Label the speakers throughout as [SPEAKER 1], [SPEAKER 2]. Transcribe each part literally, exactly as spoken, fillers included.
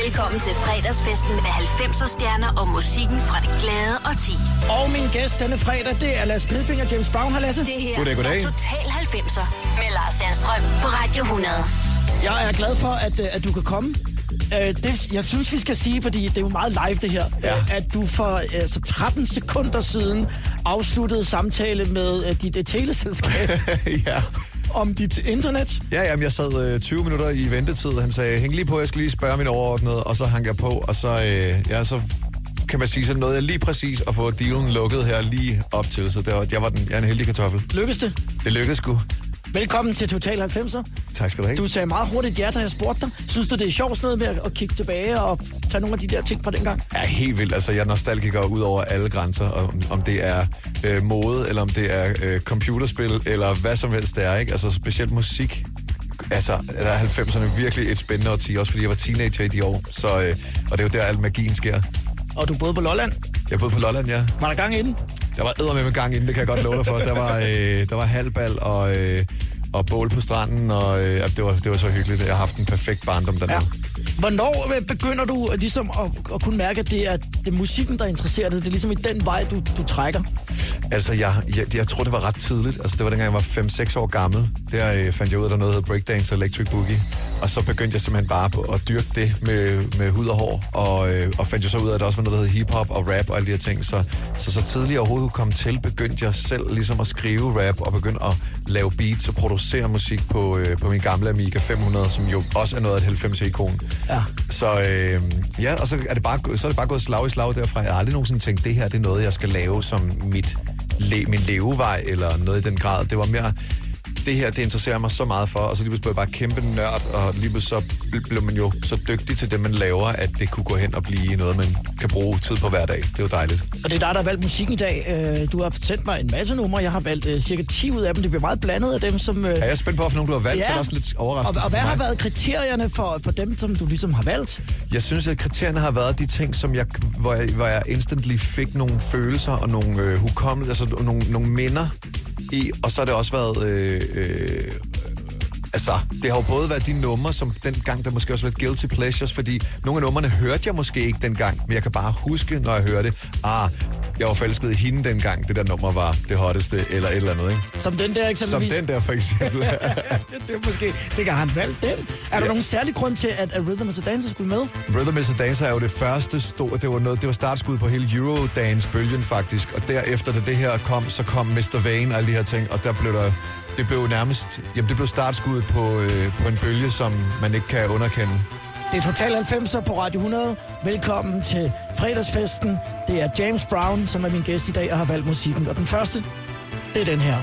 [SPEAKER 1] Velkommen til fredagsfesten med halvfemser stjerner og musikken fra det glade årti.
[SPEAKER 2] Og min gæst denne fredag, det er Lasse Pilfinger, James Brown. Har Lasse?
[SPEAKER 1] Det her
[SPEAKER 3] goddag, goddag.
[SPEAKER 1] er Total halvfemser med Lars Sandstrøm på Radio hundrede.
[SPEAKER 2] Jeg er glad for, at, at du kan komme. Det, jeg synes, vi skal sige, fordi det er jo meget live det her, ja. At du for altså, tretten sekunder siden afsluttede samtale med uh, dit uh, teleselskab.
[SPEAKER 3] Ja.
[SPEAKER 2] Om dit internet?
[SPEAKER 3] Ja, jamen, jeg sad øh, tyve minutter i ventetid. Han sagde, hæng lige på, jeg skal lige spørge min overordnede, og så hang jeg på, og så, øh, ja, så kan man sige, så nåede jeg lige præcis at få dealen lukket her lige op til, så det var, jeg var den, jeg er en heldig kartoffel.
[SPEAKER 2] Lykkedes det?
[SPEAKER 3] Det lykkedes sgu.
[SPEAKER 2] Velkommen til Total halvfemser.
[SPEAKER 3] Tak skal du have.
[SPEAKER 2] Du sagde meget hurtigt ja, da jeg spurgte dig. Synes du, det er sjovt sådan noget med at kigge tilbage og tage nogle af de der ting fra dengang?
[SPEAKER 3] Ja, helt vildt. Altså, jeg er nostalgiker ud over alle grænser, om, om det er øh, mode, eller om det er øh, computerspil, eller hvad som helst det er, ikke? Altså, specielt musik. Altså, der er halvfemserne virkelig et spændende årti, også fordi jeg var teenager i de år. Så, øh, og det er jo der, al magien sker.
[SPEAKER 2] Og du boede på Lolland?
[SPEAKER 3] Jeg boede på Lolland, ja.
[SPEAKER 2] Var der gang inden?
[SPEAKER 3] Der var eddermame med gang inden, det kan jeg godt love dig for. Der var, øh, der var halvbal og... Øh, og bål på stranden, og øh, det, var, det var så hyggeligt. Jeg har haft en perfekt barndom dernede. Ja.
[SPEAKER 2] Hvornår begynder du ligesom at, at kunne mærke, at det er, det er musikken, der interesserer dig? Det er ligesom i den vej, du, du trækker?
[SPEAKER 3] Altså, jeg, jeg, jeg tror, det var ret tidligt. Altså, det var dengang, jeg var fem seks år gammel. Der øh, fandt jeg ud af, at der noget hedder breakdance og electric boogie. Og så begyndte jeg simpelthen bare på at dyrke det med, med hud og hår. Og, øh, og fandt jo så ud af, at der også var noget, der hed hiphop og rap og alle de her ting. Så, så, så tidligt jeg overhovedet kunne komme til, begyndte jeg selv ligesom at skrive rap og begyndte at lave beats og producere musik på, øh, på min gamle Amiga fem hundrede, som jo også er noget af et halvfemser-ikon. Ja. Så øh, ja, og så er, det bare, så er det bare gået slag i slag derfra. Jeg har aldrig nogensinde tænkt, det her det er noget, jeg skal lave som mit, le, min levevej, eller noget i den grad. Det var mere, det her, det interesserer mig så meget for, og så lige pludselig blev jeg bare kæmpe nørd, og lige pludselig så blev man jo så dygtig til det, man laver, at det kunne gå hen og blive noget, man kan bruge tid på hver dag. Det er jo dejligt.
[SPEAKER 2] Og det er dig, der har valgt musikken i dag. Du har sendt mig en masse numre. Jeg har valgt uh, cirka ti ud af dem. Det bliver meget blandet af dem, som... Uh...
[SPEAKER 3] Ja, jeg er spændt på, for nogle du har valgt, ja. Så er det også lidt overraskende.
[SPEAKER 2] Og, og hvad har været kriterierne for, for dem, som du ligesom har valgt?
[SPEAKER 3] Jeg synes, at kriterierne har været de ting, som jeg, hvor jeg, hvor jeg instantly fik nogle følelser og nogle øh, hukommelse, altså nogle, nogle minder i, og så har det også været... Øh, øh, altså, det har jo både været de numre, som dengang, der måske også var lidt guilty pleasures, fordi nogle af numrene hørte jeg måske ikke dengang, men jeg kan bare huske, når jeg hørte, ah, jeg var forelsket i hende dengang, det der nummer var det hotteste, eller et eller andet, ikke?
[SPEAKER 2] Som den der eksempelvis?
[SPEAKER 3] Som den der, for eksempel.
[SPEAKER 2] Det er måske, tænker, har han valgt den? Er ja. Der nogen særlig grund til, at, at Rhythm is a Dancer skulle med?
[SPEAKER 3] Rhythm is a Dancer er jo det første store, det var noget, det var startskud på hele Eurodance-bølgen faktisk, og derefter, da det her kom, så kom mister Vane og alle de her ting, og der blev der, det blev nærmest, jamen det blev startskuddet på, øh, på en bølge, som man ikke kan underkende.
[SPEAKER 2] Det er Total halvfemser på Radio hundrede. Velkommen til fredagsfesten. Det er James Brown, som er min gæst i dag og har valgt musikken. Og den første, det er den her.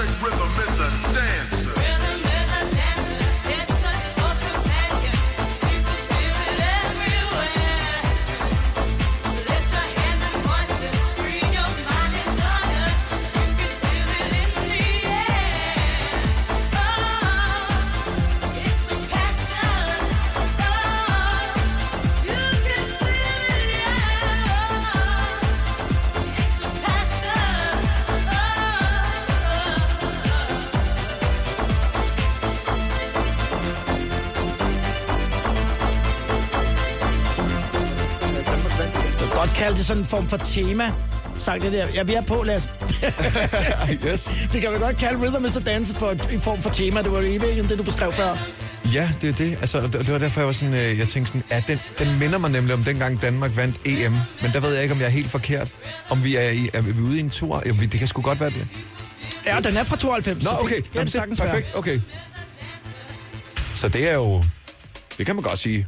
[SPEAKER 4] think rhythm is a dancer.
[SPEAKER 5] Rhythm is a dancer. It's a soul companion. You can feel it everywhere. Lift your hands and voices. Free your mind and join us. You can feel it in the air. Oh, it's a passion. Oh, you can feel it, yeah. It's a passion. Oh,
[SPEAKER 2] Jeg kan godt kalde det sådan en form for tema. Sagt det der. Ja, vi er på, Lasse.
[SPEAKER 3] Yes.
[SPEAKER 2] Det kan vi godt kalde Rhythm is a Dancer for en form for tema. Det var jo i virkeligheden det, du beskrev før.
[SPEAKER 3] Ja, det er det. Altså, det, det var derfor, jeg var sådan, øh, jeg tænkte sådan, ja, den, den minder mig nemlig om dengang Danmark vandt E M. Men der ved jeg ikke, om jeg er helt forkert. Om vi er, i, er vi ude i en tur. Ja, det kan sgu godt være det.
[SPEAKER 2] Ja, den er fra tooghalvfems.
[SPEAKER 3] Nå,
[SPEAKER 2] så
[SPEAKER 3] okay.
[SPEAKER 2] Det, det,
[SPEAKER 3] Jamen,
[SPEAKER 2] det sagtens
[SPEAKER 3] perfekt, okay. Så det er jo, det kan man godt sige.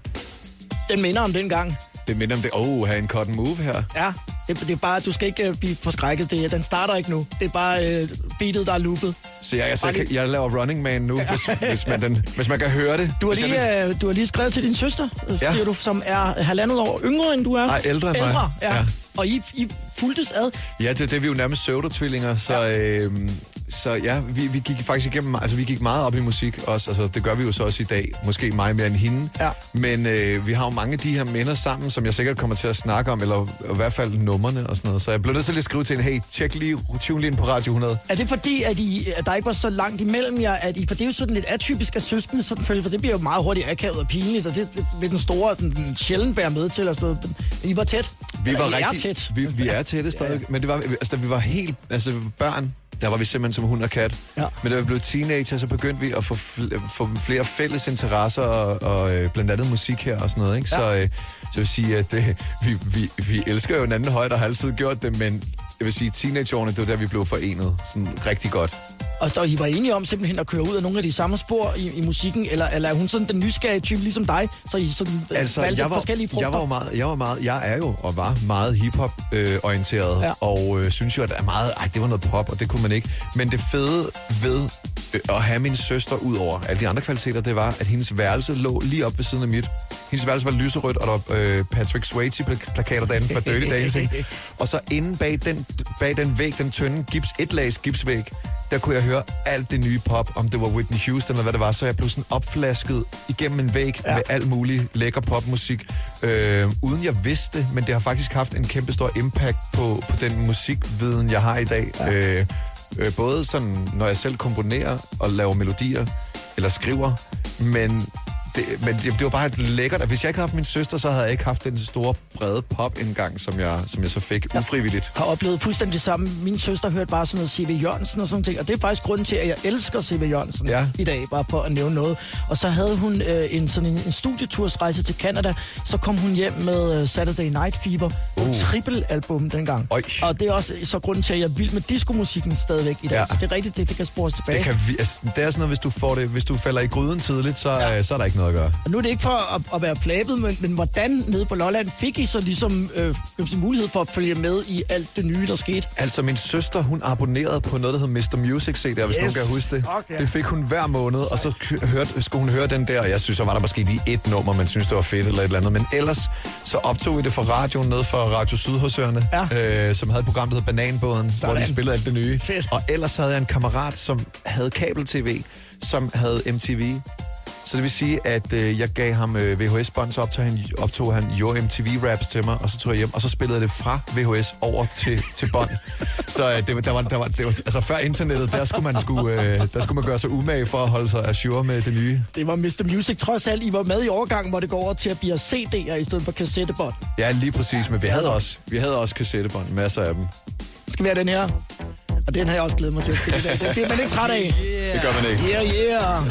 [SPEAKER 2] Den minder om dengang.
[SPEAKER 3] Det minder om det. Åh, oh, have en cut and move her.
[SPEAKER 2] Ja, det, det er bare, du skal ikke uh, blive forskrækket. Det, den starter ikke nu. Det er bare uh, beatet, der er loopet.
[SPEAKER 3] Så jeg, jeg, jeg, jeg laver Running Man nu, hvis, hvis, man, den, hvis man kan høre det.
[SPEAKER 2] Du har,
[SPEAKER 3] Hvis
[SPEAKER 2] lige,
[SPEAKER 3] jeg
[SPEAKER 2] uh, du har lige skrevet til din søster, ja. siger du, som er halvandet år yngre, end du er.
[SPEAKER 3] Nej, ældre end mig.
[SPEAKER 2] Ældre, ja.
[SPEAKER 3] Ja.
[SPEAKER 2] Og I, I fuldtes ad.
[SPEAKER 3] Ja, det, det er vi jo nærmest pseudo-tvillinger, så, ja. øh, så ja, vi, vi gik faktisk igennem, altså vi gik meget op i musik også, altså det gør vi jo så også i dag, måske mig mere end hende,
[SPEAKER 2] Ja.
[SPEAKER 3] men øh, vi har jo mange af de her minder sammen, som jeg sikkert kommer til at snakke om, eller i hvert fald numrene og sådan noget, så jeg blev nødt til at skrive til en, hey, tjek lige, tune lige ind på Radio hundrede.
[SPEAKER 2] Er det fordi, at, I, at der ikke var så langt imellem jer, at I, for det er jo sådan lidt atypisk af søskende, sådan følge, for det bliver jo meget hurtigt akavet og pinligt, og det vil den store, den, den sjældent bære med til, og sådan noget. Men I var tæt.
[SPEAKER 3] Vi var
[SPEAKER 2] Eller, I
[SPEAKER 3] rigtig,
[SPEAKER 2] er tæt.
[SPEAKER 3] Vi, vi er tætte stadig, ja. Men det var, altså, da vi var helt, altså da vi var børn, der var vi simpelthen som hund og kat.
[SPEAKER 2] Ja.
[SPEAKER 3] Men da vi blev teenager, så begyndte vi at få, fl- få flere fælles interesser, og, og øh, blandt andet musik her og sådan noget, ikke?
[SPEAKER 2] Ja.
[SPEAKER 3] Så, øh, så jeg vil sige, at øh, vi, vi, vi elsker jo en anden højde og har altid gjort det, men jeg vil sige, teenageårene, det var der, vi blev forenet sådan rigtig godt.
[SPEAKER 2] Og der, I var enige om simpelthen at køre ud af nogle af de samme spor i, i musikken, eller, eller er hun sådan den nysgerrige type ligesom dig, så I sådan
[SPEAKER 3] Altså,
[SPEAKER 2] valgte
[SPEAKER 3] jeg var,
[SPEAKER 2] forskellige frugter?
[SPEAKER 3] jeg var jo meget, jeg var meget, jeg er jo og var meget hiphop-orienteret, øh,
[SPEAKER 2] Ja.
[SPEAKER 3] og øh, synes jo, at det er meget, ej, det var noget pop, og det kunne man ikke. Men det fede ved øh, at have min søster ud over alle de andre kvaliteter, det var, at hendes værelse lå lige op ved siden af mit. Hendes værelse var lyserødt, og der var øh, Patrick Swayze-plakater derinde fra Dirty Dancing. Og så inde bag den, bag den væg, den tynde gips, etlags gipsvæg, der kunne jeg høre alt det nye pop, om det var Whitney Houston eller hvad det var, så jeg blev sådan opflasket igennem en væg ja. med alt muligt lækker popmusik, øh, uden jeg vidste det, men det har faktisk haft en kæmpe stor impact på, på den musikviden, jeg har i dag. Ja. Øh, øh, både sådan, når jeg selv komponerer og laver melodier, eller skriver, men det, men det, det var bare et lækkert, at hvis jeg ikke havde haft min søster, så havde jeg ikke haft den store, brede pop-indgang, som jeg, som jeg så fik ufrivilligt.
[SPEAKER 2] Jeg har oplevet fuldstændig det samme. Min søster hørte bare sådan noget C V Jørgensen og sådan ting, og det er faktisk grunden til, at jeg elsker C V Jørgensen
[SPEAKER 3] Ja.
[SPEAKER 2] i dag, bare for at nævne noget. Og så havde hun øh, en sådan en, en studietursrejse til Canada, så kom hun hjem med øh, Saturday Night Fever, uh. et triple-album dengang.
[SPEAKER 3] Oj.
[SPEAKER 2] Og det er også så grunden til, at jeg er vild med diskomusikken stadigvæk i dag.
[SPEAKER 3] Ja.
[SPEAKER 2] Så det er rigtigt, det, det kan spores tilbage.
[SPEAKER 3] Det, kan vi, altså, det er sådan noget, hvis du, får det, hvis du falder i gryden tidligt, så, ja. øh, så er der ikke noget at gøre.
[SPEAKER 2] Og nu er det ikke for at, at være flabet, men, men hvordan nede på Lolland fik I så ligesom øh, mulighed for at følge med i alt det nye, der skete?
[SPEAKER 3] Altså, min søster, hun abonnerede på noget, der hed mister Music C D, hvis
[SPEAKER 2] Yes.
[SPEAKER 3] nogen kan huske det.
[SPEAKER 2] Okay.
[SPEAKER 3] Det fik hun hver måned, og så k- hørte, skulle hun høre den der, og jeg synes, så var der måske lige et nummer, man synes, det var fedt eller et eller andet. Men ellers, så optog vi det fra radioen ned fra Radio Sydhusørene,
[SPEAKER 2] Ja.
[SPEAKER 3] øh, som havde et program, der hed Bananbåden, hvor de spillede alt det nye.
[SPEAKER 2] Fedt.
[SPEAKER 3] Og ellers havde jeg en kammerat, som havde kabel-tv, som havde M T V. Så det vil sige, at øh, jeg gav ham øh, V H S-bånd, så optog han, optog han Your M T V-raps til mig, og så tog jeg hjem, og så spillede jeg det fra V H S over til, til bånd. Så øh, det, var, der var, der var, det var, altså før internettet, der skulle, man skulle, øh, der skulle man gøre sig umage for at holde sig ajour med det nye.
[SPEAKER 2] Det var mister Music. Trods alt, I var med i overgangen, hvor det går over til at blive C D'er i stedet for kassettebånd.
[SPEAKER 3] Ja, lige præcis, men vi havde også, vi havde også kassettebånd, masser af dem.
[SPEAKER 2] Skal vi have den her? Og den har jeg også glædet mig til at spille i dag. Det bliver man ikke træt af.
[SPEAKER 3] Yeah. Det gør man ikke.
[SPEAKER 2] Yeah, yeah.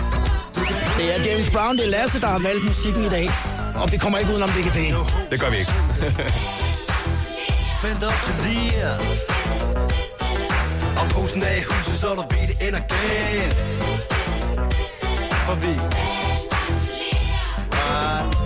[SPEAKER 2] Det er James Brown, det er Lasse, der har valgt musikken i dag. Og vi kommer ikke udenom D K P.
[SPEAKER 3] Det gør vi ikke.
[SPEAKER 6] Spændt op til lige. Og posen af i huset, så du ved, det ender galt. For vi right.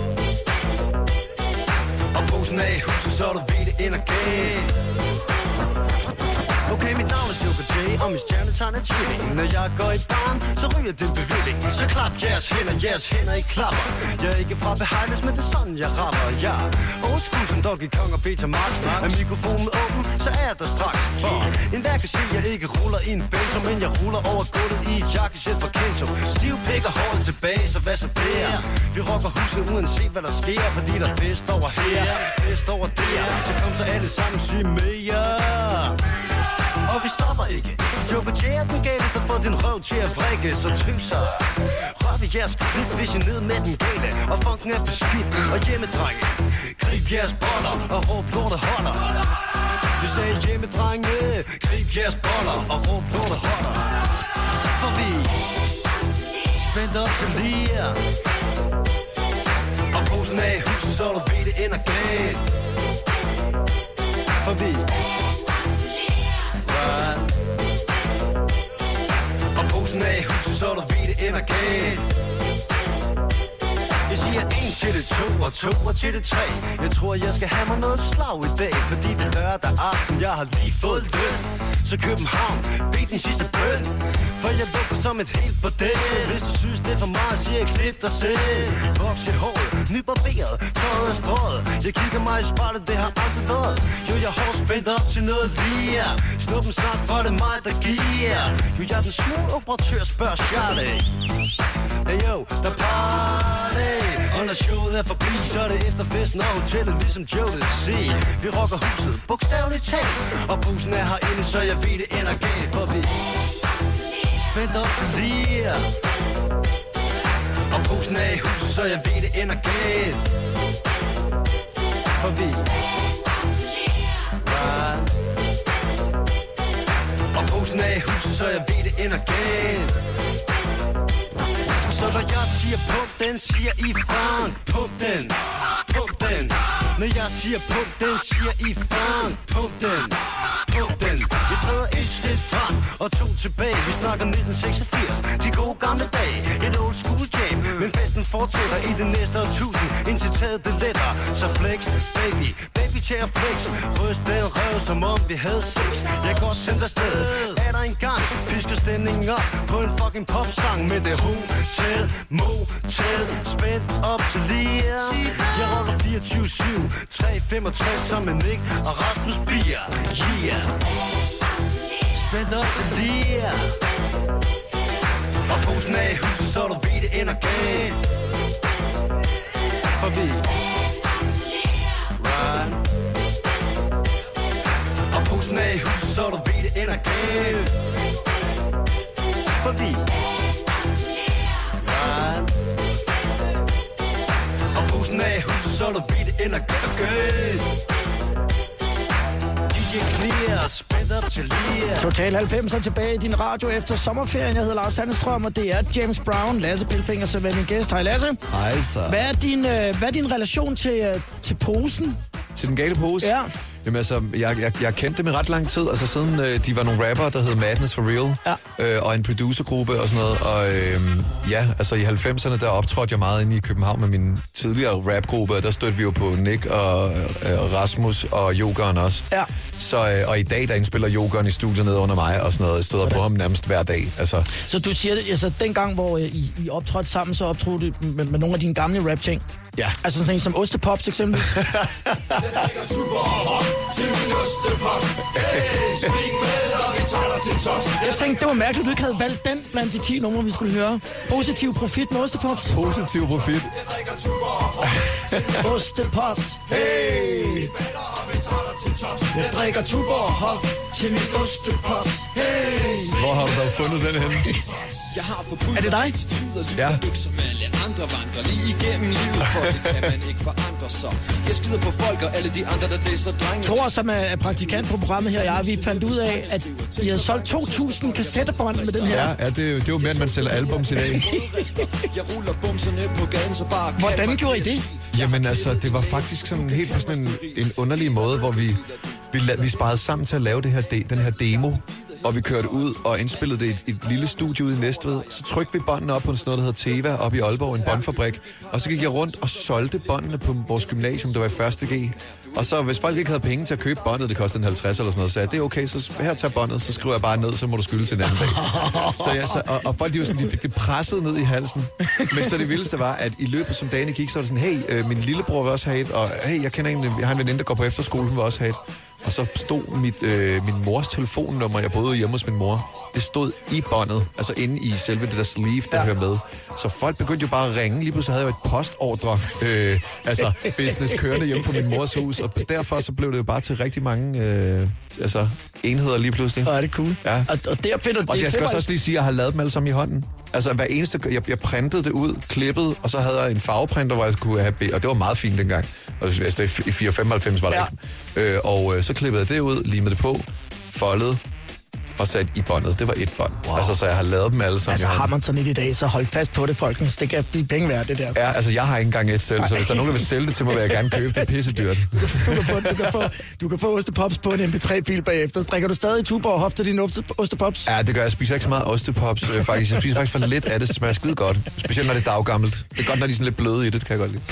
[SPEAKER 6] Og posen af i huset, så du ved, det ender galt. Okay, mit navn er Joker J, og min stjernetegn er tvilling. Når jeg går i barn, så ryger det bevilling. Så klap jeres hænder, jeres hænder i klapper. Jeg er ikke fra Behighlands, men det er sådan, jeg rapper. Jeg er old school som Donkey Kong og Beta Max. Er mikrofonen åben, så er jeg der straks. For en hver kan se, jeg ikke ruller i en benzo, men jeg ruller over gulvet i et jakkesæt fra Kenzo. Stiv pik og håret tilbage, så hvad så der? Vi rocker huset uanset hvad der sker, fordi der er fest over her, fest over der. Så kom så alle sammen, sig mere. Og vi stopper ikke. Joker J er den gale, der får din røv til at vrikke. Så triv sig. Rør ved jeres klip, hvis I ned med den gale. Og funken er beskidt og hjemmedrenge. Grib jeres boller og råb lorte holder. Vi sagde hjemmedrenge. Grib jeres boller og råb lorte holder. For vi spændt op til lige. Og posen af i huset, så du ved det ender galt. For vi og posen af i huset, så du ved det ender galt. Jeg siger en til det to og to og til det tre. Jeg tror jeg skal have mig noget slag i dag, fordi det er lørdag aften, jeg har lige fået løn. Så København, bed din sidste bøn, for jeg lukker som et helt bordel. Hvis du synes det er for meget, siger jeg klip dig selv. Voks i håret, nybarberet, tøjet er strøget. Jeg kigger mig i spejlet, det har aldrig været. Jo, jeg har spændt op til noget lige. Snuppen snart, for det er mig, der giver. Jo, jeg er den små operatør, spørger Charlie. Hey yo, der party. Og når showet er forbi, så er det efter festen og hotellet, ligesom Joe det siger. Vi rocker huset, bogstaveligt talt. Og posen er herinde, så jeg ved det ender galt. For vi spændt op til lige. Og posen er i huset, så jeg ved det ender galt. For vi og posen er i huset, så jeg ved det ender galt. Så når jeg siger pump den, siger I Frank, pump den, pump den. Når jeg siger pump den, siger I Frank, pump den, pump den. Vi træder et skridt frem og to tilbage. Vi snakker nitten seksogfirs, de gode gamle dage. Et old school jam, men festen fortsætter i det næste årtusind, indtil taget det letter. Så flex, baby, baby til at flex. Ryst den røv, som om vi havde sex. Jeg går sendt afsted, er der en gang. Pisker stemningen op på en fucking popsang med det hotel, motel, spændt op til lige. Jeg roller fireogtyve syv, tre femogtres sammen med Nick og Rasmus Bier. Yeah. Spændt op til lige. Og posen er i huset, så du ved det ender galt. For vi right. Og posen er i huset, så du ved det ender galt. For vi right. Og posen er i huset, så du ved det ender galt.
[SPEAKER 2] Total halvfemser tilbage i din radio efter sommerferien. Jeg hedder Lars Sandstrøm, og det er James Brown. Lasse Pilfinger, så er min gæst. Hej Lasse.
[SPEAKER 3] Hej så.
[SPEAKER 2] Hvad er din, øh, hvad er din relation til, øh, til posen?
[SPEAKER 3] Til den gale pose?
[SPEAKER 2] Ja.
[SPEAKER 3] Jamen altså, jeg, jeg, jeg kendte dem i ret lang tid, altså siden øh, de var nogle rapper, der hed Madness for Real,
[SPEAKER 2] ja.
[SPEAKER 3] øh, og en producergruppe og sådan noget, og øh, ja, altså i halvfemserne, der optrådte jeg meget inde i København med min tidligere rapgruppe, og der stødte vi jo på Nick og øh, Rasmus og Jokeren også.
[SPEAKER 2] Ja.
[SPEAKER 3] Så, øh, og i dag, der indspiller Jokeren i studiet nede under mig og sådan noget, jeg støder på ham nærmest hver dag, altså.
[SPEAKER 2] Så du siger, altså den gang, hvor øh, I, I optrådte sammen, så optrådte du med, med nogle af dine gamle rap-ting?
[SPEAKER 3] Ja.
[SPEAKER 2] Altså sådan en som Ostepops eksempelvis? Jeg tænkte, det var mærkeligt, at du ikke havde valgt den blandt de ti numre, vi skulle høre. Positiv profit med Ostepops.
[SPEAKER 3] Positiv profit.
[SPEAKER 2] Ostepops. Hey! Jeg drikker Tuborg Hof til min Ostepops. Hey!
[SPEAKER 3] Hvor har du da fundet den henne?
[SPEAKER 7] Jeg har forbudt
[SPEAKER 2] Er det dig?
[SPEAKER 3] Ja.
[SPEAKER 7] Ikke som alle andre vandrer lige igennem livet, for det kan man ikke forandre sig. Jeg skider på folk og alle de andre, der disser drenge.
[SPEAKER 2] Thor, som er praktikant på programmet her, jeg, vi fandt ud af, at I havde solgt to tusind kassettebånd med den her.
[SPEAKER 3] Ja, ja det, det er jo mere, end man sælger albums i dag.
[SPEAKER 7] Jeg ruller bumserne på gaden, så bare...
[SPEAKER 2] Hvordan gjorde I det?
[SPEAKER 3] Jamen altså, det var faktisk sådan helt på sådan en, en underlig måde, hvor vi, vi, la- vi sparede sammen til at lave det her de, den her demo. Og vi kørte ud og indspillede det i et, et lille studie ude i Næstved. Så trykte vi båndene op på sådan noget, der hedder Teva, op i Aalborg, en båndfabrik. Og så gik jeg rundt og solgte båndene på vores gymnasium, der var i første G. Og så hvis folk ikke havde penge til at købe båndet, det kostede en halvtreds eller sådan noget, så sagde jeg, det er okay, så her tager båndet, så skriver jeg bare ned, så må du skylde til en anden dag. Så jeg, så, og, og folk de, var sådan, de fik det presset ned i halsen. Men så det vildeste var, at i løbet som dagene gik, så var det sådan, hey, øh, min lillebror vil også have et, og hey, jeg kender en, jeg har en veninde, der går på efterskole, hun vil også have et. Og så stod mit, øh, min mors telefonnummer, jeg boede hjemme hos min mor, det stod i båndet, altså inde i selve det der sleeve, der ja. hører med. Så folk begyndte jo bare at ringe, lige pludselig havde jeg jo et postordre, øh, altså business kørende hjemme fra min mors hus, og derfor så blev det jo bare til rigtig mange øh, altså, enheder lige pludselig.
[SPEAKER 2] Og er det cool.
[SPEAKER 3] Ja.
[SPEAKER 2] Og, og der finder
[SPEAKER 3] Og
[SPEAKER 2] det,
[SPEAKER 3] jeg skal
[SPEAKER 2] det var...
[SPEAKER 3] også lige sige, at jeg har lavet dem alle sammen i hånden. Altså hver eneste, jeg, jeg printede det ud, klippede, og så havde jeg en farveprinter, hvor jeg kunne have, og det var meget fint dengang. Og altså, i fire femoghalvfems var det
[SPEAKER 2] ja.
[SPEAKER 3] ikke. Øh, og øh, så klippede jeg det ud, limede det på, foldede og sat i båndet. Det var et bånd. Wow. Altså, så jeg har lavet dem alle sammen.
[SPEAKER 2] Altså har man sådan et i dag, så hold fast på det, folkens. Det kan blive penge værd, det der.
[SPEAKER 3] Ja, altså jeg har ikke engang et selv, så hvis der er nogen, der vil sælge det til mig, vil jeg gerne købe det. Pissedyrt.
[SPEAKER 2] Du kan, du kan, få, du kan, få, du kan få ostepops på en M P tre-fil bagefter. Drikker du stadig Tuborg og hofter dine ostepops?
[SPEAKER 3] Ja, det gør jeg. Jeg spiser ikke så meget ostepops, øh, faktisk. Jeg spiser faktisk for lidt af det, det smager skide godt. Specielt når det er daggammelt. Det er godt, når de er sådan lidt bløde i det, det kan jeg godt lide.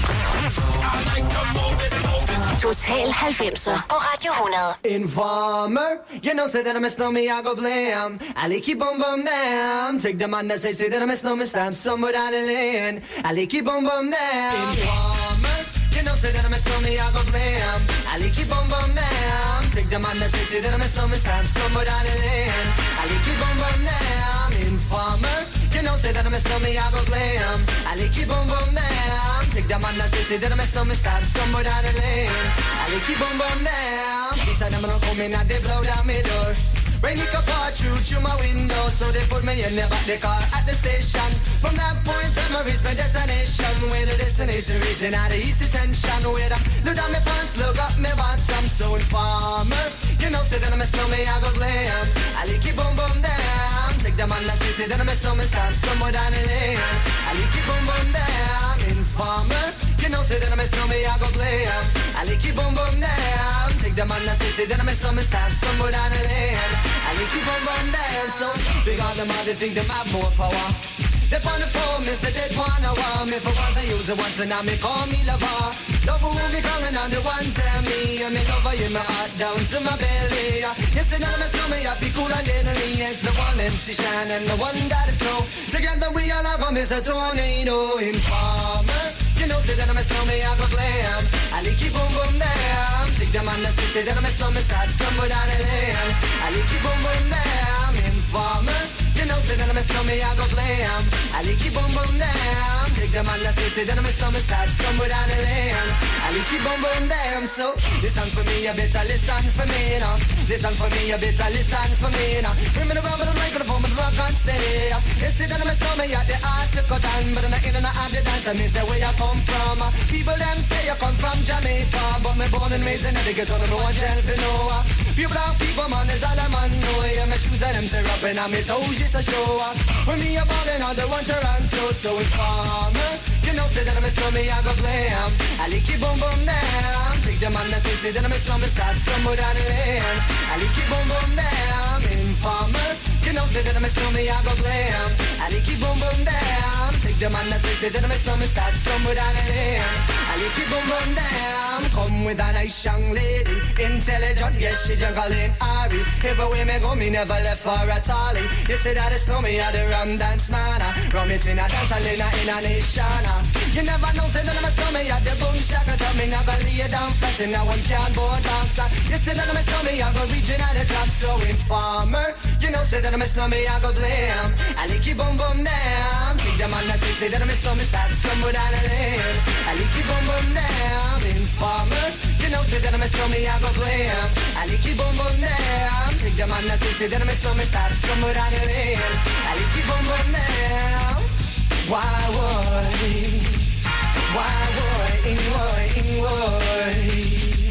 [SPEAKER 1] Total halvfemser på Radio hundrede.
[SPEAKER 6] Informer, you know, say that I'm a snowman, I go blam. I like keep on bum down. Take the man that say, say that I'm a snowman, stamp somewhere down the lane. I like keep on bum down. Informer, you know, say that I'm a snowman, I go blam. I like keep on bum down. Take the man that say, say that I'm a snowman, stamp somewhere down the lane. I like keep on bum down. Informer, you know, say that I'm a snowman, I go blam. I like keep on bum down. Take the man that say, say that I'm a snowman, stamp somewhere down the lane. I like keep on bum down. These are them don't come in and they blow down my door. Rain it up all through through my window, so they put me in the back the car at the station. From that point on, I reach my destination. Where the destination reaching out of east detention. Where I look down my pants, look up my bottom. So informer, you know, say that I'm a snowman, I go glam. I like keep on bum down. Take the man that say, say that I'm a snowman, stand somewhere down the lane. I like keep on bum down. Informer, you know, say that I'm a snowman, I go glam. I like keep on bum down. Take the man that say, say that I'm a snowman, stand somewhere down the lane. I like keep on bum down. So big on them all, they think them have more power. They on the phone, me say they wanna want me. For once I use it once and now me call me lover. Love who me calling on the one tell me. And me lover in my heart down to my belly. Yes, and I'm a snowman, I feel cool and deadly. It's the one M C Shine and the one that is snow. Together we all have come as a tornado. Informer, you know, say that I'm a snowman, I go glam. I like keep on boom down. Take the man that say, say that I'm a snowman, start somewhere down the lane. I like keep on boom down. Informer, you know, say that I'm a snowman, I go glam. I like keep on boom down. Take the man that say, say that I'm a snowman, start somewhere down the lane. I like keep on boom down. So listen for me, you better listen for me now. Listen for me, you better listen for me now. Bring me the rubber, the microphone, but the rock on steady. You see that I'm a snowman, you the art to cut on, but I'm not in and out of the dance. I mean, say where you come from. People them say you come from Jamaica, but me born and raised in the ghetto, no one tell for no. People black people, man, is all I'm on. No, yeah, my shoes and them tear up and my toes just a show up. When me a ballin' on the one run so so informer, you know, say that I'm a snowman, I go glam. I like keep boom boom down. Take the man that say, say that I'm a snowman, start somewhere down the lane. I like keep boom boom down. Informer, you know, say that I'm a snowman, I go glam. I like keep boom boom down. Take the man that say, say that I'm a snowman, start somewhere down the lane. I like keep boom boom down. Come with a nice young lady, intelligent, yes, she jungling Ari. Everywhere me go, me never left for a tally. You say that it's me, I the rum dance man. Rum it in a dance, I in a, in a nation. You never know, say that I'm a snowman, I the boom shaka. Tell me never lay down flat, and now one can't born dancer. You say that I'm a snowman, I go reaching at the top. So informer, you know, say that I'm a snowman, I go glam. I like you boom boom down. Take the man that say, say that I'm a snowman, start somewhere down the lane. I like you boom boom down. Informer, you know, say that I'm a snowman, I go glam. I like you boom boom down. Take the man that say, say that I'm a snowman, start somewhere down the lane. I like you boom boom down. Why would, why would, why would?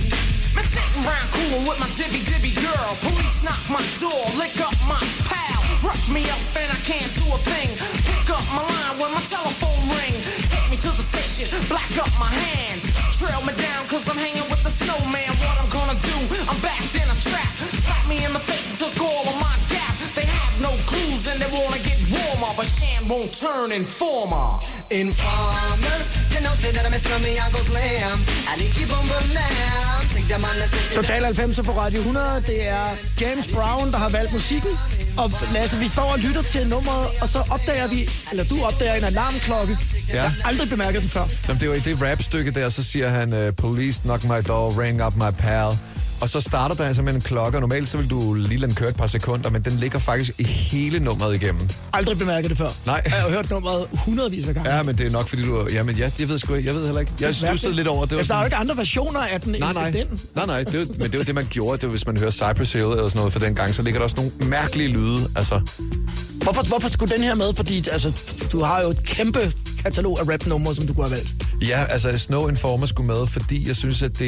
[SPEAKER 8] Me sitting round cool with my dibby dibby girl. Police knock my door, lick up my pal. Rough me up and I can't do a thing. Pick up my line when my telephone ring. Take me to the station, black up my hands. Trail me down cause I'm hanging with the snowman. What I'm gonna do, I'm backed in a trap. Slap me in the face and took all of my gap. They have no clues and they wanna get warmer. But a sham won't turn informer.
[SPEAKER 6] Informer, you know, say that I'm a slummy, I go glam. I need keep on bum now. Take the man, let's say.
[SPEAKER 2] Total halvfemser på Radio hundrede. Det er James Brown, der har valgt musikken. Og Lasse, vi står og lytter til nummeret, og så opdager vi, eller du opdager en alarmklokke.
[SPEAKER 3] Ja.
[SPEAKER 2] Jeg har aldrig bemærket den før.
[SPEAKER 3] Jamen, det er jo i det rap-stykke der, så siger han, uh, police knock my door, ring up my pal. Og så starter der altså med en klokke, og normalt så vil du lige lade den køre et par sekunder, men den ligger faktisk i hele nummeret igennem.
[SPEAKER 2] Aldrig bemærket det før.
[SPEAKER 3] Nej.
[SPEAKER 2] Jeg har hørt nummeret hundredvis af gange.
[SPEAKER 3] Ja, men det er nok fordi du... Jamen, ja, jeg ved sgu ikke. Jeg ved heller ikke. Jeg stussede lidt over det.
[SPEAKER 2] Altså, der er jo ikke andre versioner af den
[SPEAKER 3] nej, nej.
[SPEAKER 2] end den.
[SPEAKER 3] Nej, nej. Det var, men det var det, man gjorde. Det var, hvis man hører Cypress Hill eller sådan noget for den gang, så ligger der også nogle mærkelige lyde. Altså...
[SPEAKER 2] Hvorfor, hvorfor skulle den her med? Fordi altså, du har jo et kæmpe katalog af rap-numre, som du kunne have valgt.
[SPEAKER 3] Ja, altså Snow Informer skulle med, fordi jeg synes, at det,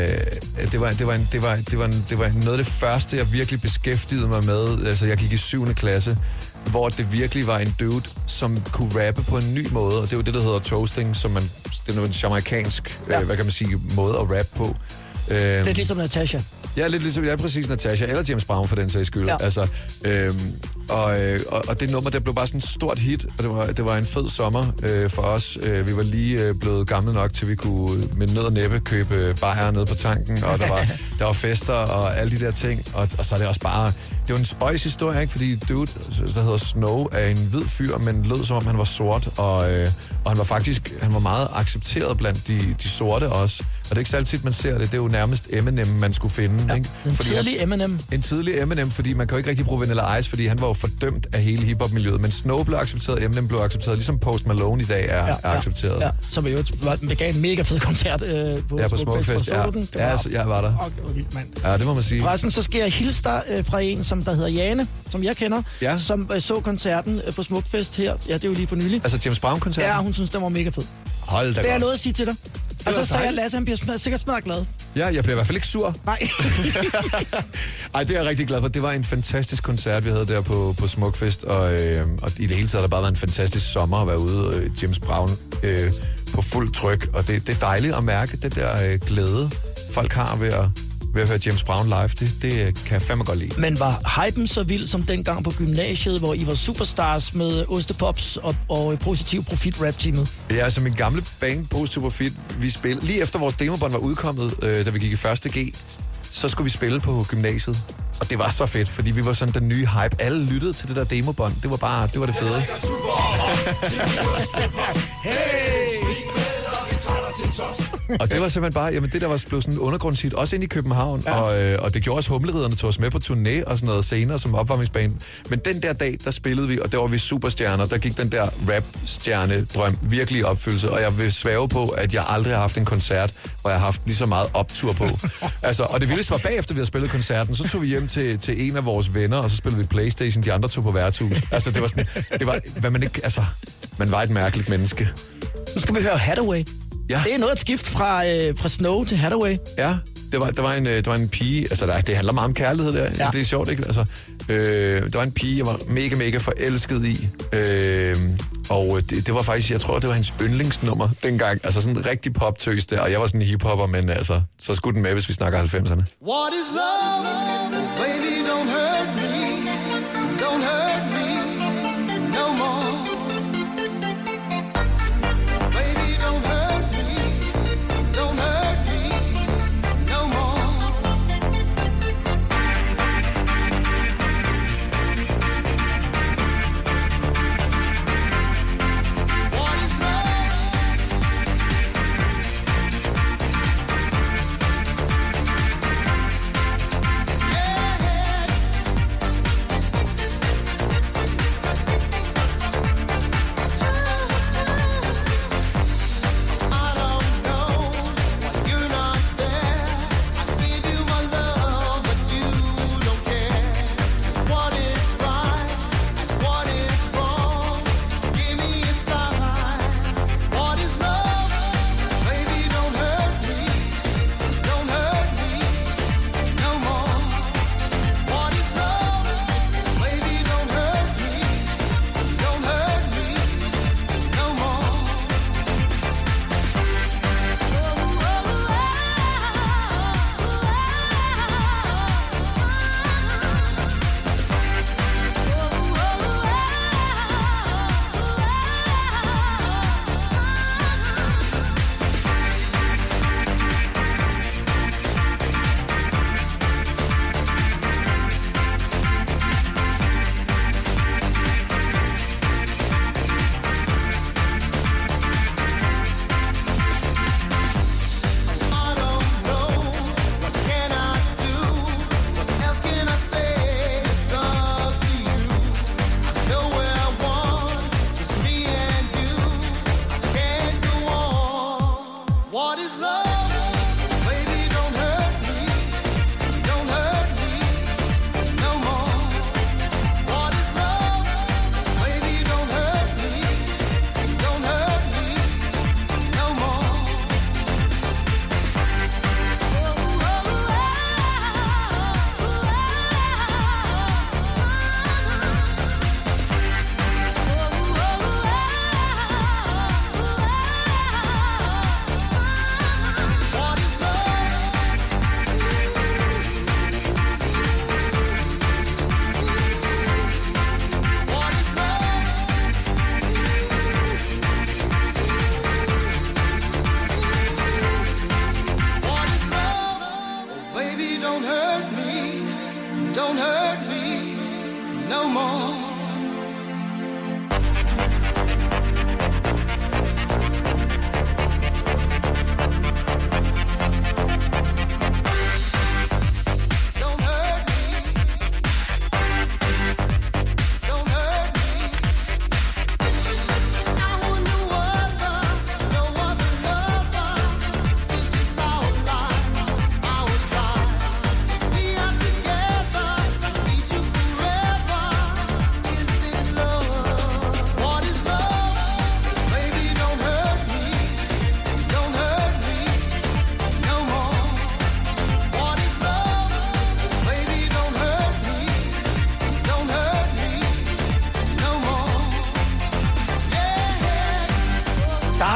[SPEAKER 3] øh, det, var, det, var en, det, var, det, var en, det var noget af det første, jeg virkelig beskæftigede mig med. Altså, jeg gik i syvende klasse, hvor det virkelig var en dude, som kunne rappe på en ny måde. Og det er jo det, der hedder toasting, som man, det er en jamaikansk, ja. øh, hvad kan man sige, måde at rappe på.
[SPEAKER 2] Øh, lidt ligesom Natasha.
[SPEAKER 3] Ja, lidt ligesom, ja, præcis Natasha, eller James Brown for den sags skyld. Ja. Altså, øhm, og, og, og det nummer, der blev bare sådan et stort hit, og det var, det var en fed sommer øh, for os. Øh, vi var lige øh, blevet gamle nok, til vi kunne med nød og næppe købe bajer nede på tanken, og der var, der var fester og alle de der ting, og, og så er det også bare... Det var en spøjs historie, ikke? Fordi dude, der hedder Snow, er en hvid fyr, men lød som om han var sort, og, øh, og han var faktisk han var meget accepteret blandt de, de sorte også. Og det er ikke så altid, man ser det. Det er jo nærmest Eminem, man skulle finde.
[SPEAKER 2] Ja,
[SPEAKER 3] ikke?
[SPEAKER 2] en
[SPEAKER 3] fordi
[SPEAKER 2] tidlig
[SPEAKER 3] han,
[SPEAKER 2] Eminem.
[SPEAKER 3] En tidlig Eminem, fordi man kan jo ikke rigtig bruge Vanilla Ice, fordi han var jo fordømt af hele hiphop-miljøet. Men Snow blev accepteret, Eminem blev accepteret, ligesom Post Malone i dag er, ja, er accepteret.
[SPEAKER 2] Ja, ja. Som jo gav en mega fed koncert øh, på,
[SPEAKER 3] ja, på Smukfest. Ja, ja altså, jeg var der.
[SPEAKER 2] Okay, vildt, mand.
[SPEAKER 3] Ja, det må man sige.
[SPEAKER 2] Forresten, så skal jeg hilse dig øh, fra en, som der hedder Jane, som jeg kender,
[SPEAKER 3] ja.
[SPEAKER 2] som øh, så koncerten øh, på Smukfest her. Ja, det er jo lige for nylig.
[SPEAKER 3] Altså James Brown-koncerten?
[SPEAKER 2] Ja, hun synes, den var mega fed.
[SPEAKER 3] Hold da
[SPEAKER 2] det
[SPEAKER 3] godt.
[SPEAKER 2] er noget at sige til dig. Og så sagde jeg, Lasse, han bliver smad, sikkert smadret glad.
[SPEAKER 3] Ja, jeg bliver i hvert fald ikke sur.
[SPEAKER 2] Nej.
[SPEAKER 3] Ej, det er jeg rigtig glad for. Det var en fantastisk koncert, vi havde der på, på Smukfest, og, øh, og i det hele taget har der bare været en fantastisk sommer at være ude, øh, James Brown øh, på fuld tryk, og det, det er dejligt at mærke det der øh, glæde, folk har ved at, ved at høre James Brown live. Det, det kan jeg fandme godt lide.
[SPEAKER 2] Men var hypen så vild som dengang på gymnasiet, hvor I var superstars med Ostepops og, og Positiv Profit rap-teamet?
[SPEAKER 3] Ja, altså min gamle band, Positiv Profit, vi spillede lige efter vores demobånd var udkommet, øh, da vi gik i første G, så skulle vi spille på gymnasiet. Og det var så fedt, fordi vi var sådan den nye hype. Alle lyttede til det der demobånd. Det var bare, det var det fede.
[SPEAKER 2] Hey!
[SPEAKER 3] Og det var simpelthen bare, jamen det der var blevet sådan en undergrundshit, også ind i København, ja. og, øh, og det gjorde også Humleridderne tog os med på turné og sådan noget senere som opvarmningsbane. Men den der dag, der spillede vi, og der var vi superstjerner, der gik den der rap-stjerne-drøm virkelig i opfyldelse, og jeg vil svæve på, at jeg aldrig har haft en koncert, hvor jeg har haft lige så meget optur på. Altså, og det vildeste var bagefter, vi havde spillet koncerten, så tog vi hjem til, til en af vores venner, og så spillede vi PlayStation, de andre tog på værtshus. Altså, det var sådan, det var, hvad man ikke, altså, man var et mærkeligt menneske.
[SPEAKER 2] Nu skal vi høre Hathaway. Ja. Det er noget at skift fra, øh, fra Snow til Hathaway.
[SPEAKER 3] Ja, det var, der, var en, der var en pige, altså der, det handler meget om kærlighed der, ja. Det er sjovt, ikke? Altså, øh, der var en pige, jeg var mega, mega forelsket i, øh, og det, det var faktisk, jeg tror, det var hans yndlingsnummer dengang, altså sådan en rigtig poptøs der, og jeg var sådan en hiphopper, men altså, så skulle den med, hvis vi snakker halvfemserne.
[SPEAKER 6] What is love? Baby, don't hurt me. Don't hurt me no more.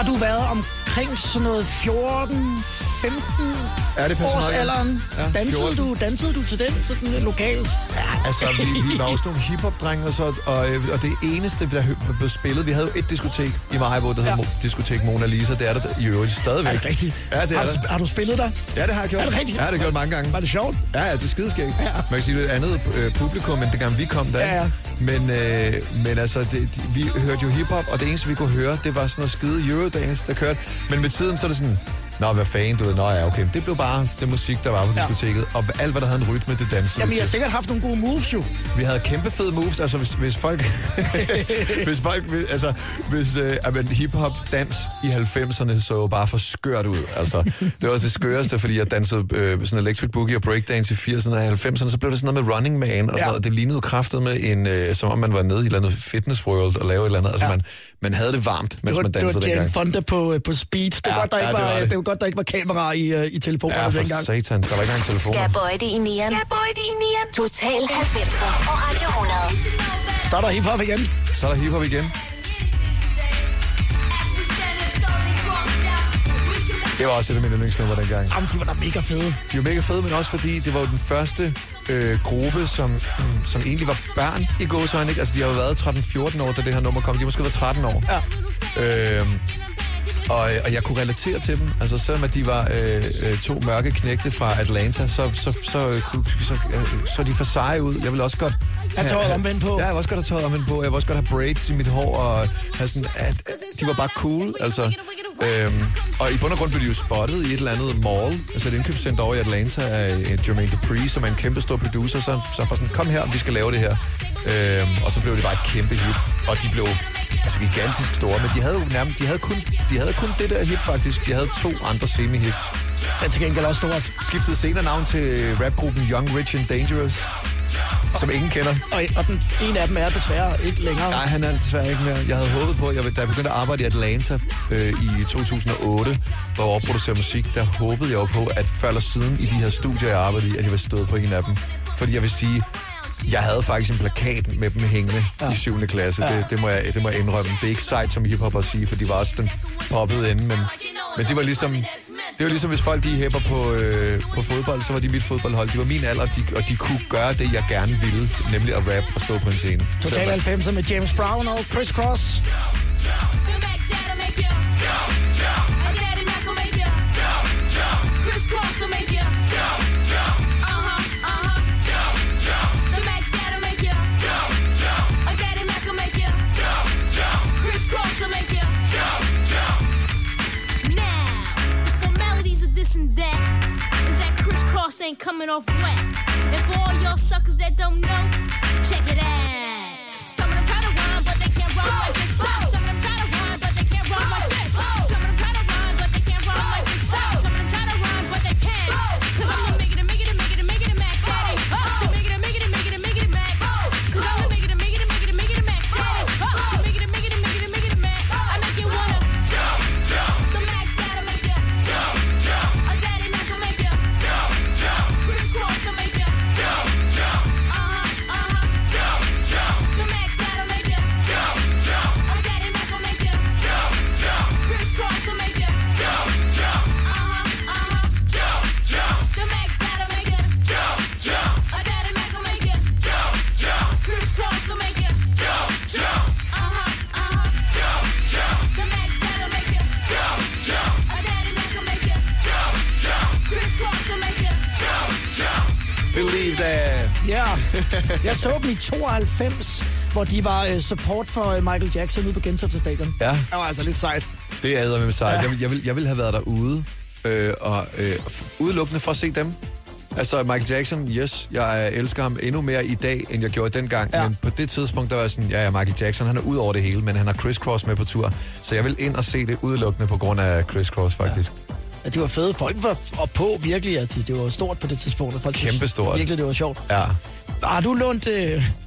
[SPEAKER 2] har du været omkring sådan noget fjorten, femten
[SPEAKER 3] Ja, det passer
[SPEAKER 2] års
[SPEAKER 3] nok, ja.
[SPEAKER 2] alderen?
[SPEAKER 3] Ja,
[SPEAKER 2] dansede,
[SPEAKER 3] fjorten.
[SPEAKER 2] du, dansede du til den sådan øh, lokalt?
[SPEAKER 3] Ja, altså, vi, vi var også nogle hiphop-drenge, og, så, og, øh, og det eneste, der hø- blev spillet, vi havde jo et diskotek i Maribo, der hedder
[SPEAKER 2] Ja.
[SPEAKER 3] ja. Diskotek Mona Lisa. Det er der i øvrigt stadigvæk.
[SPEAKER 2] Er det rigtigt?
[SPEAKER 3] Ja, det er
[SPEAKER 2] har,
[SPEAKER 3] der.
[SPEAKER 2] du, har du spillet der?
[SPEAKER 3] Ja, det har jeg gjort.
[SPEAKER 2] Er det rigtigt?
[SPEAKER 3] Ja, det har jeg gjort mange gange.
[SPEAKER 2] Var det sjovt?
[SPEAKER 3] Ja, ja, det er skideskægt.
[SPEAKER 2] Ja.
[SPEAKER 3] Man kan sige, det er et andet øh, publikum, end dengang vi kom der.
[SPEAKER 2] Ja, ja.
[SPEAKER 3] Men, øh, men altså, det, de, vi hørte jo hiphop, og det eneste, vi kunne høre, det var sådan noget skide Eurodance, der kørte. Men med tiden, så er det sådan, nå, hvad fanden, du ved, nå ja, okay. Det blev bare det musik, der var på
[SPEAKER 2] Ja.
[SPEAKER 3] diskoteket, og alt, hvad der havde en rytme, det dansede
[SPEAKER 2] Jamen,
[SPEAKER 3] vi
[SPEAKER 2] I har
[SPEAKER 3] til.
[SPEAKER 2] sikkert haft nogle gode moves, jo.
[SPEAKER 3] Vi havde kæmpe fede moves, altså hvis, hvis folk, hvis folk, hvis, altså hvis øh, amen, hiphop dans i halvfemserne så jo bare for skørt ud, altså det var også det skøreste, fordi jeg dansede øh, sådan electric boogie og breakdance i firserne og halvfemserne, så blev det sådan noget med Running Man og sådan
[SPEAKER 2] Ja.
[SPEAKER 3] noget, det lignede kraftet med en, øh, som om man var nede i et eller andet fitness world og lave et eller andet, altså
[SPEAKER 2] Ja.
[SPEAKER 3] man, man havde det varmt, mens
[SPEAKER 2] Det var,
[SPEAKER 3] man
[SPEAKER 2] det
[SPEAKER 3] dansede
[SPEAKER 2] var Jane
[SPEAKER 3] dengang.
[SPEAKER 2] Fonda på, øh, på speed. Det var,
[SPEAKER 3] Ja,
[SPEAKER 2] godt, der
[SPEAKER 3] ja,
[SPEAKER 2] ikke
[SPEAKER 3] det
[SPEAKER 2] var,
[SPEAKER 3] var
[SPEAKER 2] det.
[SPEAKER 3] det.
[SPEAKER 2] det var godt, der ikke var kamera i, øh, i telefonerne
[SPEAKER 3] Ja, for
[SPEAKER 2] dengang.
[SPEAKER 3] satan, der var ikke engang telefoner.
[SPEAKER 1] Skal bøje det i nieren. Skal bøje det i nieren. Total halvfemser og Radio hundrede.
[SPEAKER 2] Så er der hiphop igen.
[SPEAKER 3] Så er der hiphop igen. Det var også et af mine yndlingsnumre dengang.
[SPEAKER 2] Jamen, de var da mega fede.
[SPEAKER 3] De var mega fede, men også fordi det var jo den første øh, gruppe, som, som egentlig var børn i gåsøjne, ikke? Altså, de har jo været tretten fjorten år, da det her nummer kom. De har måske været tretten år.
[SPEAKER 2] Ja.
[SPEAKER 3] Øh, og, og jeg kunne relatere til dem. Altså, selvom at de var øh, øh, to mørke knægte fra Atlanta, så, så, så, så, så, så, så er de for seje ud. Jeg vil også godt...
[SPEAKER 2] Have tøjet omvendt på.
[SPEAKER 3] Ja, jeg vil også godt have tøjet omvendt på. Jeg vil også godt have braids i mit hår, og have sådan... At, de var bare cool, altså... Øhm, og i bund og grund blev de jo spottet i et eller andet mall, altså et indkøbscenter over i Atlanta af Jermaine Dupri, som er en kæmpe stor producer, så, så bare sådan, kom her, vi skal lave det her. Øhm, og så blev det bare et kæmpe hit, og de blev altså gigantisk store, men de havde jo nærmest, de havde kun, de havde kun det der hit faktisk, de havde to andre semi-hits.
[SPEAKER 2] Den til gengæld også stort.
[SPEAKER 3] Skiftede senere navn til rapgruppen Young, Rich and Dangerous, som ingen kender.
[SPEAKER 2] Og, og den ene af dem er desværre ikke længere.
[SPEAKER 3] Nej, han er desværre ikke mere. Jeg havde håbet på, jeg, da jeg begyndte at arbejde i Atlanta øh, i to tusind og otte, hvor jeg overproducerede musik, der håbede jeg jo på, at før eller siden i de her studier, jeg arbejdede i, at jeg ville stå på en af dem. Fordi jeg vil sige, jeg havde faktisk en plakat med dem hængende ja. i syvende klasse. Ja. Det, det, må jeg, det må jeg indrømme. Det er ikke sejt som hiphop at sige, for de var også den poppede ende, men, men det var ligesom... Det var ligesom, hvis folk de hæpper på, øh, på fodbold, så var de mit fodboldhold. De var min alder, de, og de kunne gøre det, jeg gerne ville, nemlig at rap og stå på en scene.
[SPEAKER 2] Total halvfemser med James Brown og Chris Cross.
[SPEAKER 9] Ain't coming off wet. And for all y'all suckers that don't know, check it out. Some of them try to rhyme, but they can't rhyme like this. Some of them try to rhyme, but they can't rhyme like this. Some of them try to rhyme, but they can't rhyme like this. Some of them try to rhyme, but they can't. Cause I'm the make it, make it, make it, make it, Mac Daddy. The make it, make it, make it, make it, Mac. Cause I'm the make it, make it, make it, make it, Mac Daddy. The make it, make it, make it, make it, Mac. I make you wanna jump, jump. The Mac Daddy make you jump, jump. A Daddy Mac will make you jump, jump. Chris Cross will make you jump, jump. Uh-huh, uh-huh. Jump, jump. The Mac Daddy make you jump, jump. A Daddy Mac will make you jump, jump. Chris Cross will make you jump, jump. Uh-huh, uh-huh. Jump, jump. The Mac Daddy make you jump, jump. A Daddy Mac will make you jump, jump. Chris Cross will make you jump, jump. Uh-huh, uh-huh. Jump, jump. The Mac Daddy make you jump, jump. A Daddy Mac will make you jump, jump. Chris Cross will make you jump, jump.
[SPEAKER 3] Believe that.
[SPEAKER 2] Ja, jeg så dem i tooghalvfems, hvor de var uh, support for uh, Michael Jackson ude på Gentofte Stadion.
[SPEAKER 3] Ja.
[SPEAKER 2] Det var altså lidt sejt.
[SPEAKER 3] Det er med sejt.
[SPEAKER 2] Ja.
[SPEAKER 3] Jeg, vil- jeg, vil, jeg ville have været derude, øh, og øh, f- udelukkende for at se dem. Altså Michael Jackson, yes, jeg øh, elsker ham endnu mere i dag, end jeg gjorde dengang.
[SPEAKER 2] Ja.
[SPEAKER 3] Men på det tidspunkt, der var jeg sådan, ja, ja, Michael Jackson, han er ud over det hele, men han har Chris Cross med på tur. Så jeg vil ind og se det udelukkende på grund af Chris Cross, faktisk.
[SPEAKER 2] Ja, de var fede. Folk var og på virkelig, at det var stort på det tidspunkt. Folk synes
[SPEAKER 3] Kæmpestort.
[SPEAKER 2] Virkelig, det var sjovt.
[SPEAKER 3] Ja.
[SPEAKER 2] Har du lånt, øh,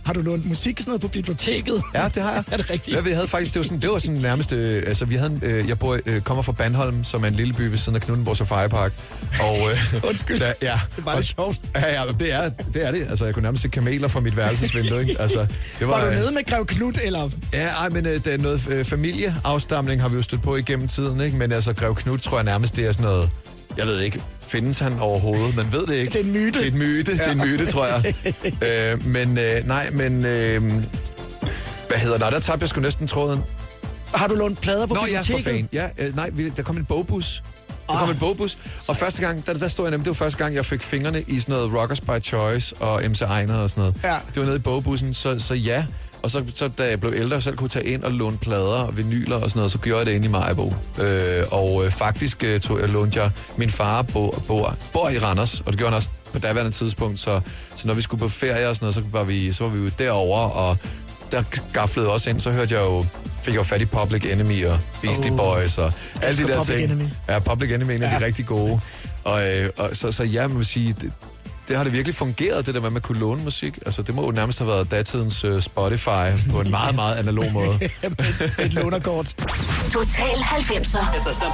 [SPEAKER 2] Har du lånt musik sådan noget på biblioteket?
[SPEAKER 3] Ja, det har jeg.
[SPEAKER 2] Er det rigtigt?
[SPEAKER 3] Ja, vi havde faktisk, det var sådan, det var sådan nærmest, øh, altså vi havde, en, øh, jeg bor, øh, kommer fra Bandholm, som er en lille by ved siden af Knuthenborg Safari Park. Og, øh,
[SPEAKER 2] Undskyld,
[SPEAKER 3] der, ja,
[SPEAKER 2] det var lidt sjovt.
[SPEAKER 3] Ja, ja, det er, det er det. Altså, jeg kunne nærmest se kameler fra mit værelsesvindue, ikke? Altså, det
[SPEAKER 2] var, var du
[SPEAKER 3] øh,
[SPEAKER 2] nede med Grev Knut, eller?
[SPEAKER 3] Ja, ej, men øh, det er noget øh, familieafstamning har vi jo stødt på igennem tiden, ikke? Men altså, Grev Knut tror jeg nærmest, det er sådan noget, jeg ved ikke, findes han overhovedet? Man ved det ikke.
[SPEAKER 2] Det er en myte.
[SPEAKER 3] Det er en myte, ja. Det er en myte, tror jeg. øh, men øh, nej, men øh, hvad hedder det? Der tabte jeg sgu næsten tråden.
[SPEAKER 2] Har du lånt plader på
[SPEAKER 3] Nå,
[SPEAKER 2] biblioteket?
[SPEAKER 3] Nå, ja, for fan. Ja, øh, nej, vi, der kom en bogbus. Der kom en bogbus, og første gang, der, der stod jeg nemlig, det var første gang, jeg fik fingrene i sådan noget Rockers by Choice og M C Ejner og sådan noget.
[SPEAKER 2] Ja.
[SPEAKER 3] Det var nede i bogbussen, så, så ja. Og så, så da jeg blev ældre og selv kunne tage ind og låne plader og vinyler og sådan noget, så gjorde jeg det inde i Maribo. Øh, og øh, faktisk øh, tog jeg, lånte jeg, min far bor, bor, bor i Randers, og det gjorde han også på daværende tidspunkt, så, så når vi skulle på ferie og sådan noget, så var vi, så var vi jo derovre, og der gaflede også ind, så hørte jeg jo, fik jeg jo fat i Public Enemy og Beastie oh, Boys og alle de der
[SPEAKER 2] Public
[SPEAKER 3] ting.
[SPEAKER 2] Enemy.
[SPEAKER 3] Ja, Public Enemy er en af
[SPEAKER 2] ja.
[SPEAKER 3] de rigtig gode. Og, øh, og så, så ja, man vil sige, det, det har det virkelig fungeret, det der med, at man kunne låne musik. Altså, det må jo nærmest have været datidens uh, Spotify på en meget, meget analog måde.
[SPEAKER 2] Et lånerkort.
[SPEAKER 1] Total halvfemser.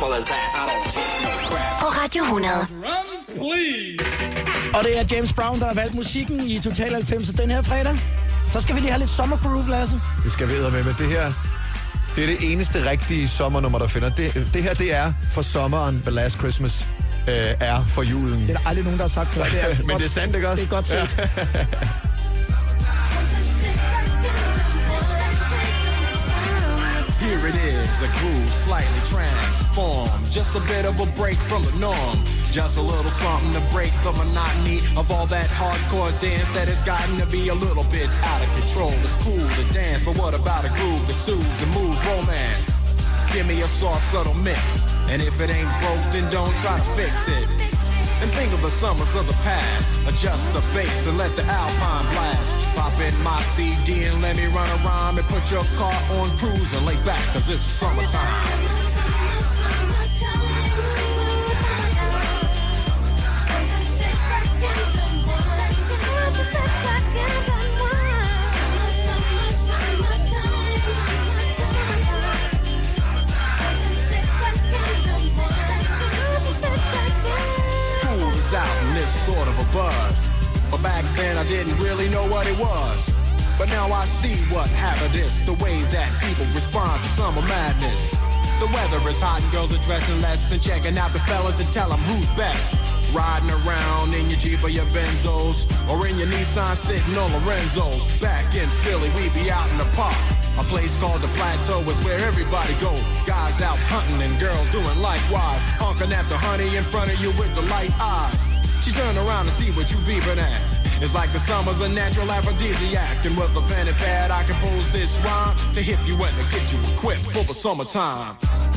[SPEAKER 1] På Radio hundrede.
[SPEAKER 2] Og det er James Brown, der har valgt musikken i Total halvfemser den her fredag. Så skal vi lige have lidt sommergroove, Lasse.
[SPEAKER 3] Det skal vi med, men det her, det er det eneste rigtige sommernummer, der finder. Det, det her, det er for sommeren, The Last Christmas øh, er for julen.
[SPEAKER 2] Det er der aldrig nogen, der har sagt før. Det er
[SPEAKER 3] men
[SPEAKER 2] godt,
[SPEAKER 3] det er sandt, ikke også?
[SPEAKER 2] Det er godt set.
[SPEAKER 3] Ja.
[SPEAKER 10] Here it is, a groove slightly transformed. Just a bit of a break from the norm. Just a little something to break the monotony of all that hardcore dance that has gotten to be a little bit out of control. It's cool to dance, but what about a groove that soothes and moves romance? Give me a soft, subtle mix. And if it ain't broke, then don't try to fix it. And think of the summers of the past. Adjust the bass and let the alpine blast. Pop in my C D and let me run around and put your car on cruise and lay back, cause it's summertime. Out in this sort of a buzz. But back then I didn't really know what it was. But now I see what happened is the way that people respond to summer madness. The weather is hot and girls are dressing less and checking out the fellas to tell them who's best. Riding around in your Jeep or your Benzos or in your Nissan sitting on Lorenzo's. Back in Philly we be out in the park. A place called the Plateau is where everybody go. Guys out hunting and girls doing likewise. Honking at the honey in front of you with the light eyes. She turn around to see what you beeping at. It's like the summer's a natural aphrodisiac. And with a pen and pad I compose this rhyme to hip you and to get you equipped for the summertime.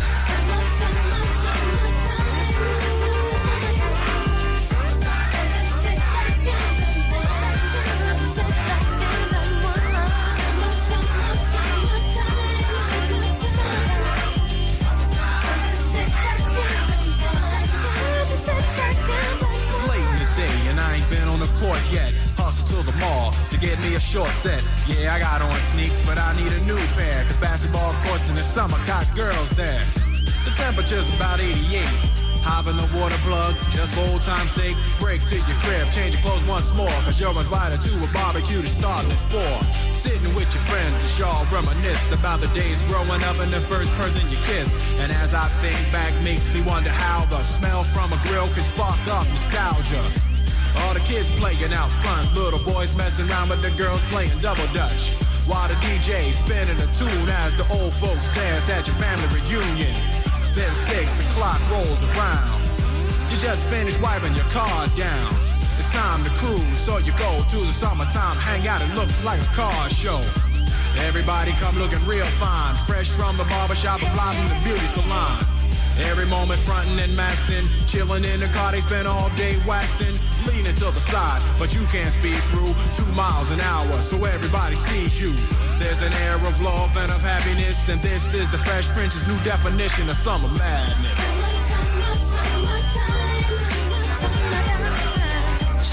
[SPEAKER 10] Court yet, hustle to the mall to get me a short set. Yeah, I got on sneaks, but I need a new pair, cause basketball courts in the summer got girls there. The temperature's about eighty-eight. Hop in the water plug, just for old time's sake. Break to your crib, change your clothes once more, cause you're invited to a barbecue to start at four. Sitting with your friends as y'all reminisce about the days growing up and the first person you kiss. And as I think back, makes me wonder how the smell from a grill can spark up nostalgia. All the kids playing out front, little boys messing around with the girls playing double dutch. While the D J spinning a tune as the old folks dance at your family reunion. Then six o'clock rolls around. You just finished wiping your car down. It's time to cruise, so you go to the summertime hangout. It looks like a car show. Everybody come looking real fine, fresh from the barbershop and fly from the beauty salon. Every moment frontin' and maxin', chillin' in the car, they spend all day waxin', leanin' to the side, but you can't speed through two miles an hour, so everybody sees you. There's an air of love and of happiness, and this is the Fresh Prince's new definition of summer madness.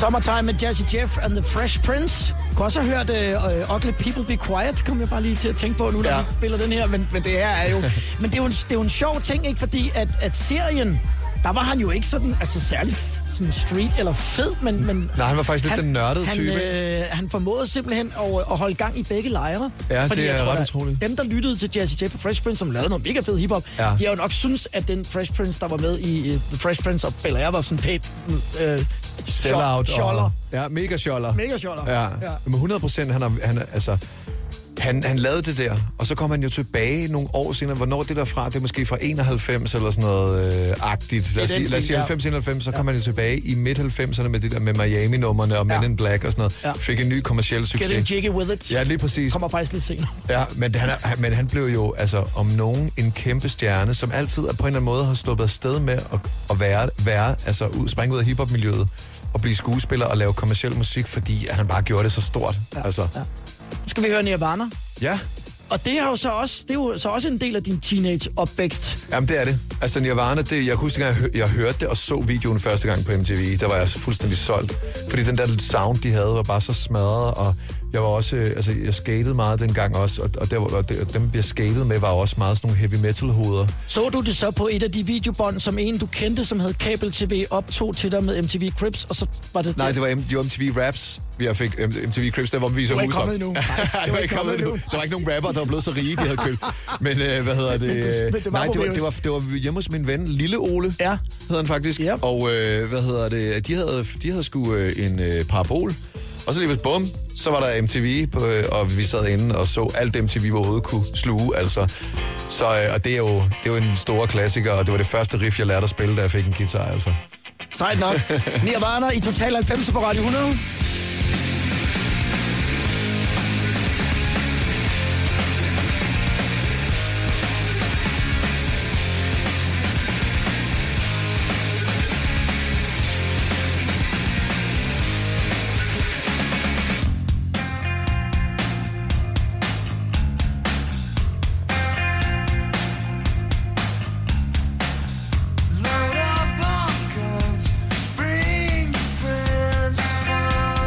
[SPEAKER 2] Summertime med Jazzy Jeff and the Fresh Prince. Du kunne også have hørt uh, Ugly People Be Quiet, kom jeg bare lige til at tænke på nu, når
[SPEAKER 3] Ja.
[SPEAKER 2] vi spiller den her. Men, men det her er jo... men det er jo, en, det er jo en sjov ting, ikke? Fordi at, at serien, der var han jo ikke sådan, altså særlig sådan street eller fed, men... men
[SPEAKER 3] Nej, han var faktisk lidt den nørdede
[SPEAKER 2] han,
[SPEAKER 3] type,
[SPEAKER 2] øh, han formåede simpelthen at, at holde gang i begge lejre.
[SPEAKER 3] Ja,
[SPEAKER 2] Fordi
[SPEAKER 3] det
[SPEAKER 2] jeg
[SPEAKER 3] er
[SPEAKER 2] tror,
[SPEAKER 3] ret
[SPEAKER 2] der-
[SPEAKER 3] utroligt.
[SPEAKER 2] Dem, der lyttede til Jazzy Jeff og Fresh Prince, som lavede noget mega fed hiphop,
[SPEAKER 3] Ja.
[SPEAKER 2] de har jo nok synes, at den Fresh Prince, der var med i uh, The Fresh Prince og Bel Air, var sådan pænt øh,
[SPEAKER 3] Sellout.
[SPEAKER 2] Scholler.
[SPEAKER 3] Ja, mega scholler.
[SPEAKER 2] Mega scholler.
[SPEAKER 3] Ja.
[SPEAKER 2] Ja.
[SPEAKER 3] Men hundrede procent, han, er, han, er, altså, han, han lavede det der, og så kom han jo tilbage nogle år senere. Hvornår det der fra? Det er måske fra enoghalvfems eller sådan noget øh, agtigt. Lad os
[SPEAKER 2] den
[SPEAKER 3] sige, lad os
[SPEAKER 2] stil,
[SPEAKER 3] sige
[SPEAKER 2] ja.
[SPEAKER 3] halvfems enoghalvfems, så kom han jo tilbage i midt-halvfemserne med det der med Miami-nummerne og Men
[SPEAKER 2] Ja.
[SPEAKER 3] in Black og sådan noget.
[SPEAKER 2] Ja.
[SPEAKER 3] Fik en ny kommerciel
[SPEAKER 2] Get
[SPEAKER 3] succes.
[SPEAKER 2] in jiggy with it.
[SPEAKER 3] Ja, lige præcis.
[SPEAKER 2] Kommer faktisk lidt senere.
[SPEAKER 3] Ja, men han, er, men han blev jo altså om nogen en kæmpe stjerne, som altid er på en eller anden måde har sluppet afsted med at, at være, være, altså ud, springe ud af hiphop-miljøet og blive skuespiller og lave kommerciel musik, fordi han bare gjorde det så stort. Ja, altså.
[SPEAKER 2] Ja. Nu skal vi høre Nirvana.
[SPEAKER 3] Ja.
[SPEAKER 2] Og det er jo så også, det er jo så også en del af din teenage-opvækst.
[SPEAKER 3] Jamen, det er det. Altså, Nirvana, det, jeg kunne huske, at jeg, hør, jeg hørte det og så videoen første gang på M T V. Der var jeg fuldstændig solgt. Fordi den der sound, de havde, var bare så smadret, og jeg var også, øh, altså, jeg skatede meget dengang også, og, og, der, og, det, og dem, jeg skatede med, var også meget sådan nogle heavy metal-hoveder.
[SPEAKER 2] Så du det så på et af de videobånd, som en du kendte, som hed Kabel-T V, optog til dig med M T V Cribs, og så var det...
[SPEAKER 3] Nej, det var, M- det var M T V Raps, vi har fik M T V Cribs, der hvor vi viser
[SPEAKER 2] Du er ikke
[SPEAKER 3] husop.
[SPEAKER 2] kommet endnu. Nej,
[SPEAKER 3] det var ikke kommet endnu. Der var ikke nogen rapper, der var blevet så rige, de havde købt. Men øh, hvad hedder det?
[SPEAKER 2] Men det- men det var
[SPEAKER 3] Nej, det var,
[SPEAKER 2] Mobius.
[SPEAKER 3] det, var, det var hjemme hos min ven, Lille Ole,
[SPEAKER 2] Ja.
[SPEAKER 3] hedder han faktisk.
[SPEAKER 2] Ja.
[SPEAKER 3] Og øh, hvad hedder det? De havde, de havde sgu øh, en øh, parabol. Og så lige ved bum, så var der M T V, på, øh, og vi sad inde og så alt M T V, vi overhovedet kunne sluge, altså. Så, øh, og det er, jo, det er jo en stor klassiker, og det var det første riff, jeg lærte at spille, da jeg fik en guitar, altså.
[SPEAKER 2] Sejt nok. Nirvana i Total halvfems på Radio hundrede.
[SPEAKER 5] Load up on guns, bring your friends, fun.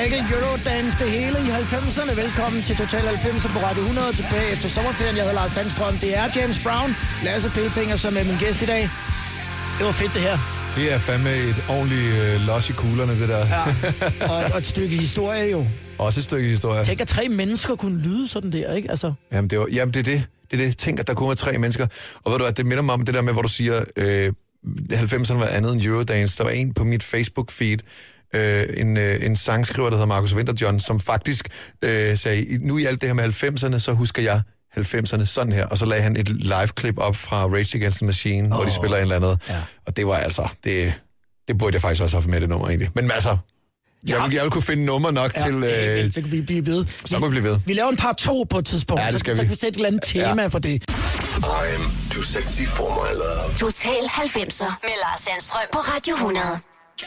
[SPEAKER 2] Michael, Eurodance, det hele i halvfemserne. Velkommen til Total halvfemser på Radio hundrede, tilbage efter sommerferien. Jeg hedder Lars Sandstrøm. Det er James Brown, Lasse Pilfinger, som er min gæst i dag. Det var fedt, det her.
[SPEAKER 3] Det er fandme et ordentligt øh, los i kuglerne, det der.
[SPEAKER 2] Ja, og, og et stykke historie jo.
[SPEAKER 3] Også et stykke historie.
[SPEAKER 2] Tænk, at tre mennesker kunne lyde sådan der, ikke? Altså.
[SPEAKER 3] Jamen, det, var, jamen det er det. Det er det. Tænk, at der kunne være tre mennesker. Og ved du at det minder mig om det der med, hvor du siger, øh, halvfemserne var andet end Eurodance. Der var en på mit Facebook-feed, øh, en, øh, en sangskriver, der hedder Markus Winterjohn, som faktisk øh, sagde, nu i alt det her med halvfemserne, så husker jeg halvfemserne sådan her. Og så lagde han et live-klip op fra Rage Against the Machine, oh. hvor de spiller en eller andet. Ja. Og det var altså, det, det burde jeg faktisk også have med det nummer egentlig. Men altså, jeg, ja. vil, jeg vil kunne finde nummer nok ja, til... Øh,
[SPEAKER 2] så kan vi blive ved.
[SPEAKER 3] Så kan vi blive ved.
[SPEAKER 2] Vi laver en par to på et tidspunkt,
[SPEAKER 3] ja, det skal
[SPEAKER 2] så,
[SPEAKER 3] vi.
[SPEAKER 2] så kan vi sætte et eller andet tema ja. for det.
[SPEAKER 4] I'm too sexy for my love.
[SPEAKER 1] Total halvfemser med Lars Sandstrøm på Radio hundrede.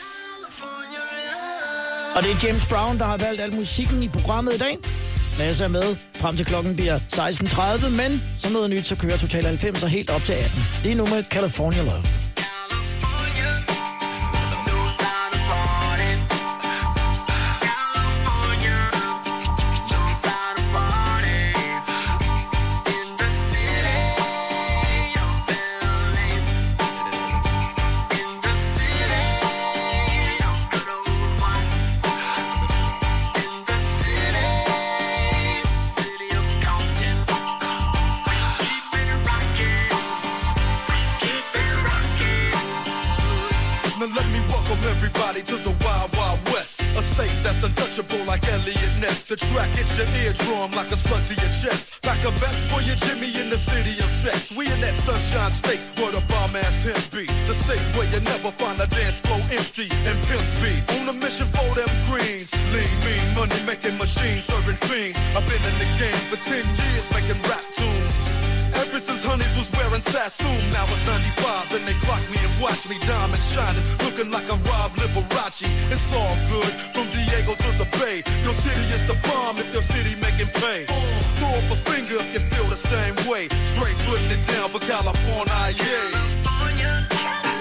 [SPEAKER 2] Og det er James Brown, der har valgt al musikken i programmet i dag. Lasse er med frem til klokken bliver seksten tredive, men som noget nyt, så kører Total halvfemser helt op til atten. Lige nu med California Love.
[SPEAKER 4] To the Wild Wild West, a state that's untouchable like Elliot Ness. The track hits your eardrum like a slug to your chest. Pack a vest for your Jimmy in the city of sex. We in that sunshine state where the bomb ass him be. The state where you never find a dance floor empty and pimp speed. On a mission for them greens. Lean, mean, money making machines, serving fiends. I've been in the game for ten years making rap tunes. Ever since Honeys was wearing Sassoon, now it's ninety-five, and they clock me and watch me diamond shining, looking like I'm Rob Liberace. It's all good, from Diego to the Bay. Your city is the bomb if your city making pay. Throw up a finger if you feel the same way. Straight putting it down for California, yeah.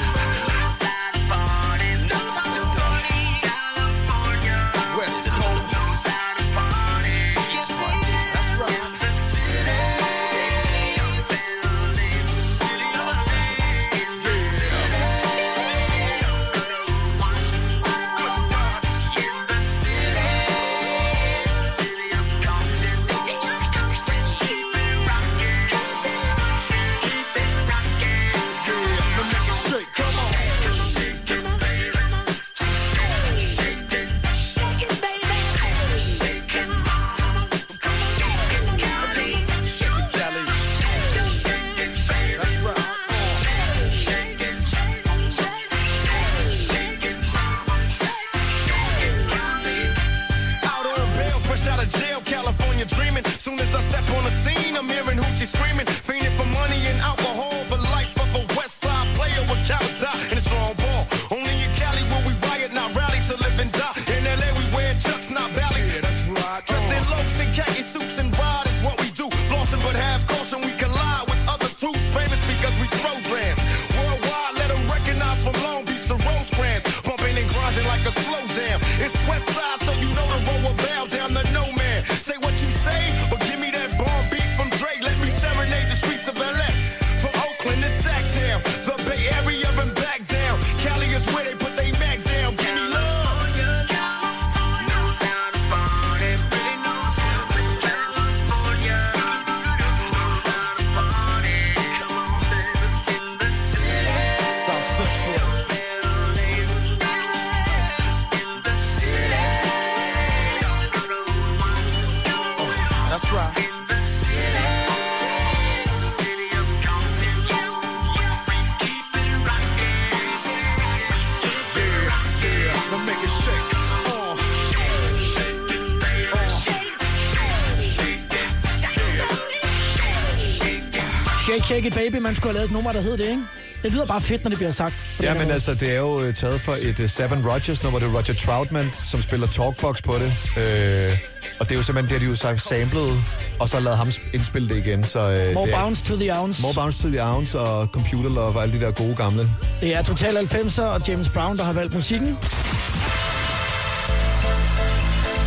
[SPEAKER 2] Shake, Shake It Baby, man skulle have lavet et nummer, der hed det, ikke? Det lyder bare fedt, når det bliver sagt.
[SPEAKER 3] Ja, men altså, det er jo uh, taget fra et uh, Seven Rogers nummer. Det er Roger Troutman, som spiller Talkbox på det. Uh, og det er jo simpelthen det, de jo sagt samlet, og så lavet ham indspille det igen. Så, uh,
[SPEAKER 2] More
[SPEAKER 3] det er,
[SPEAKER 2] Bounce to the Ounce.
[SPEAKER 3] More Bounce to the Ounce og Computer Love og alle de der gode gamle.
[SPEAKER 2] Det er Total halvfemser og James Brown, der har valgt musikken.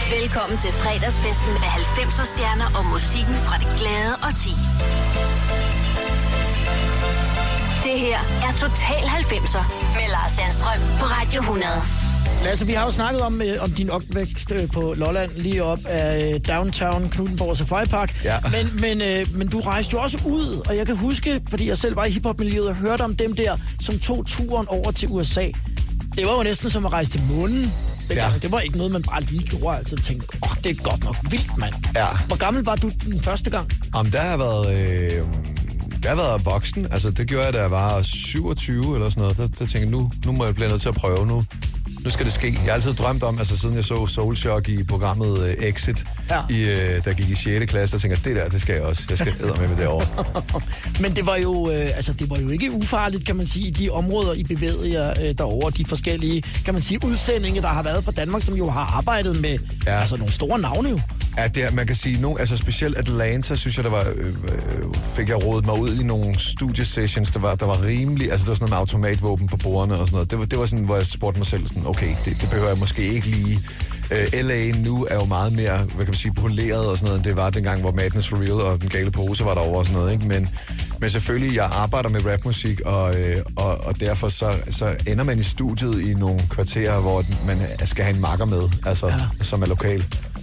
[SPEAKER 1] Velkommen til fredagsfesten med halvfemser stjerner og musikken fra det glade årti. Det her er Total halvfemser med Lars Sandstrøm på Radio hundrede.
[SPEAKER 2] Lasse, vi har jo snakket om, øh, om din opvækst øh, på Lolland, lige op af øh, downtown Knuthenborg Safari Park.
[SPEAKER 3] Ja.
[SPEAKER 2] Men, men, øh, men du rejste jo også ud, og jeg kan huske, fordi jeg selv var i hiphop-miljøet og hørte om dem der, som tog turen over til U S A. Det var jo næsten som at rejse til månen. Ja. Det var ikke noget, man bare lige gjorde. Altså tænkte, åh, oh, det er godt nok vildt, mand.
[SPEAKER 3] Ja.
[SPEAKER 2] Hvor gammel var du den første gang?
[SPEAKER 3] Om der har været... Øh, der har været voksen. Altså, det gjorde jeg, da jeg var syvogtyve eller sådan noget. Der, der tænkte jeg, nu, nu må jeg blive nødt til at prøve nu. Nu skal det ske. Jeg har altid drømt om, altså siden jeg så Soul Shock i programmet uh, Exit, ja. i, uh, der gik i sjette klasse, der tænker jeg, det der, det skal jeg også. Jeg skal æde med med derovre.
[SPEAKER 2] Men det var jo, øh, altså det var jo ikke ufarligt, kan man sige, i de områder, I bevægede jer øh, derovre, de forskellige, kan man sige, udsendinger, der har været fra Danmark, som jo har arbejdet med ja. altså nogle store navne jo.
[SPEAKER 3] Ja, det er, man kan sige nu, altså specielt Atlanta, synes jeg, der var, øh, fik jeg rodet mig ud i nogle studiesessions, der var, der var rimelig, altså der var sådan noget med automatvåben på bordene og sådan noget. Det var, det var sådan, hvor jeg spurgte mig selv sådan, okay, det, det behøver jeg måske ikke lige. Øh, L A nu er jo meget mere, hvad kan man sige, poleret og sådan noget, end det var dengang, hvor Madness for Real og Den Gale Pose var derovre og sådan noget, ikke? Men, men selvfølgelig, jeg arbejder med rapmusik, og, øh, og, og derfor så, så ender man i studiet i nogle kvarterer, hvor man skal have en makker med, altså, ja. som er lokal.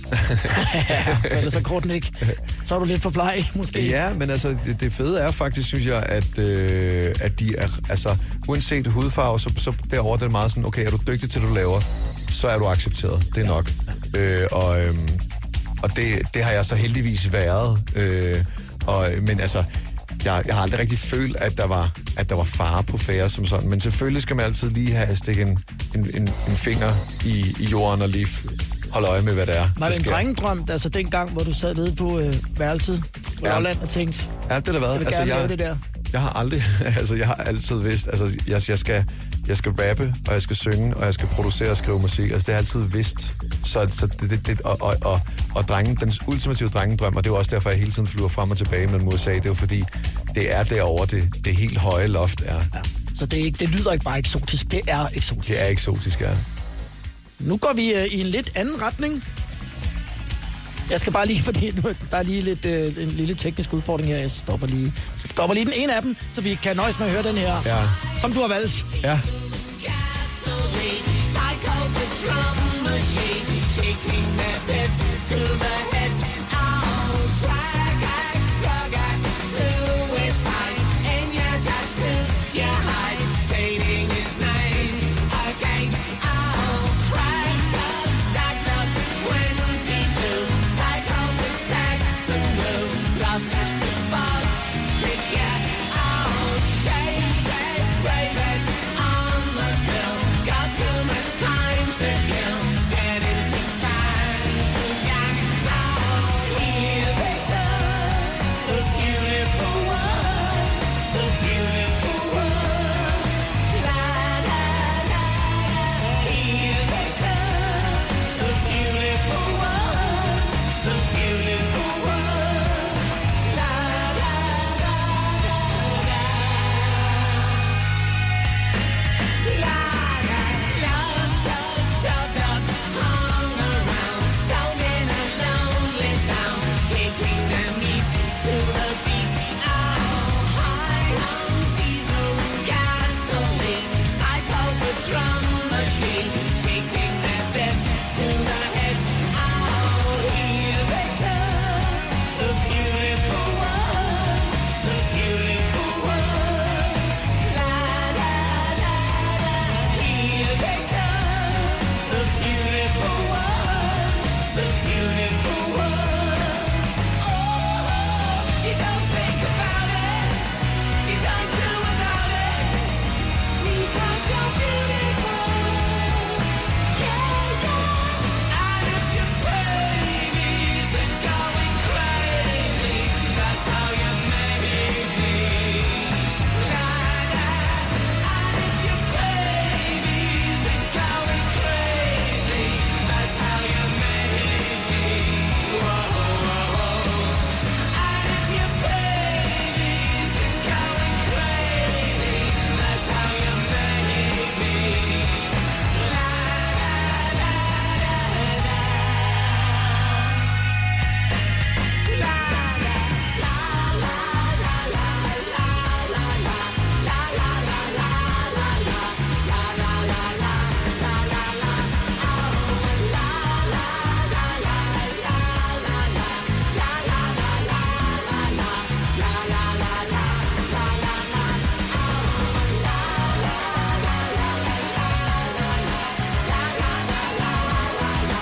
[SPEAKER 2] Ja, ellers så korten ikke. Så er du lidt for plej, måske.
[SPEAKER 3] Ja, men altså, det, det fede er faktisk, synes jeg, at, øh, at de er, altså, uanset hudfarve, så, så derovre det er meget sådan, okay, er du dygtig til, det du laver, så er du accepteret. Det er nok. Ja. Øh, og øh, og det, det har jeg så heldigvis været. Øh, og, men altså, jeg, jeg har aldrig rigtig følt, at der var, at der var fare på færre som sådan. Men selvfølgelig skal man altid lige have stikket en, en, en, en finger i, i jorden og lige holde øje med, hvad det er.
[SPEAKER 2] Var det en drengedrøm, altså den gang, hvor du sad nede på øh, værelset på ja. Lolland og tænkte,
[SPEAKER 3] ja, det har været.
[SPEAKER 2] Jeg vil
[SPEAKER 3] altså,
[SPEAKER 2] gerne
[SPEAKER 3] jeg,
[SPEAKER 2] lave det der.
[SPEAKER 3] Jeg har aldrig, altså jeg har altid vidst, altså jeg, jeg skal... Jeg skal rappe, og jeg skal synge, og jeg skal producere og skrive musik. Altså, det har jeg altid vidst. Så, så det, det, det, og, og, og, og drengen, den ultimative drengedrøm, og det er også derfor, jeg hele tiden flyver frem og tilbage mellem U S A, det er jo fordi, det er derovre, det, det helt høje loft er. Ja.
[SPEAKER 2] Så det, er ikke, det lyder ikke bare eksotisk, det er eksotisk.
[SPEAKER 3] Det er eksotisk, ja.
[SPEAKER 2] Nu går vi uh, i en lidt anden retning. Jeg skal bare lige, fordi nu, der er lige lidt, uh, en lille teknisk udfordring her. Jeg stopper lige, stopper lige den ene af dem, så vi kan nøjes med at høre den her,
[SPEAKER 3] ja.
[SPEAKER 2] som du har valgt.
[SPEAKER 3] Ja.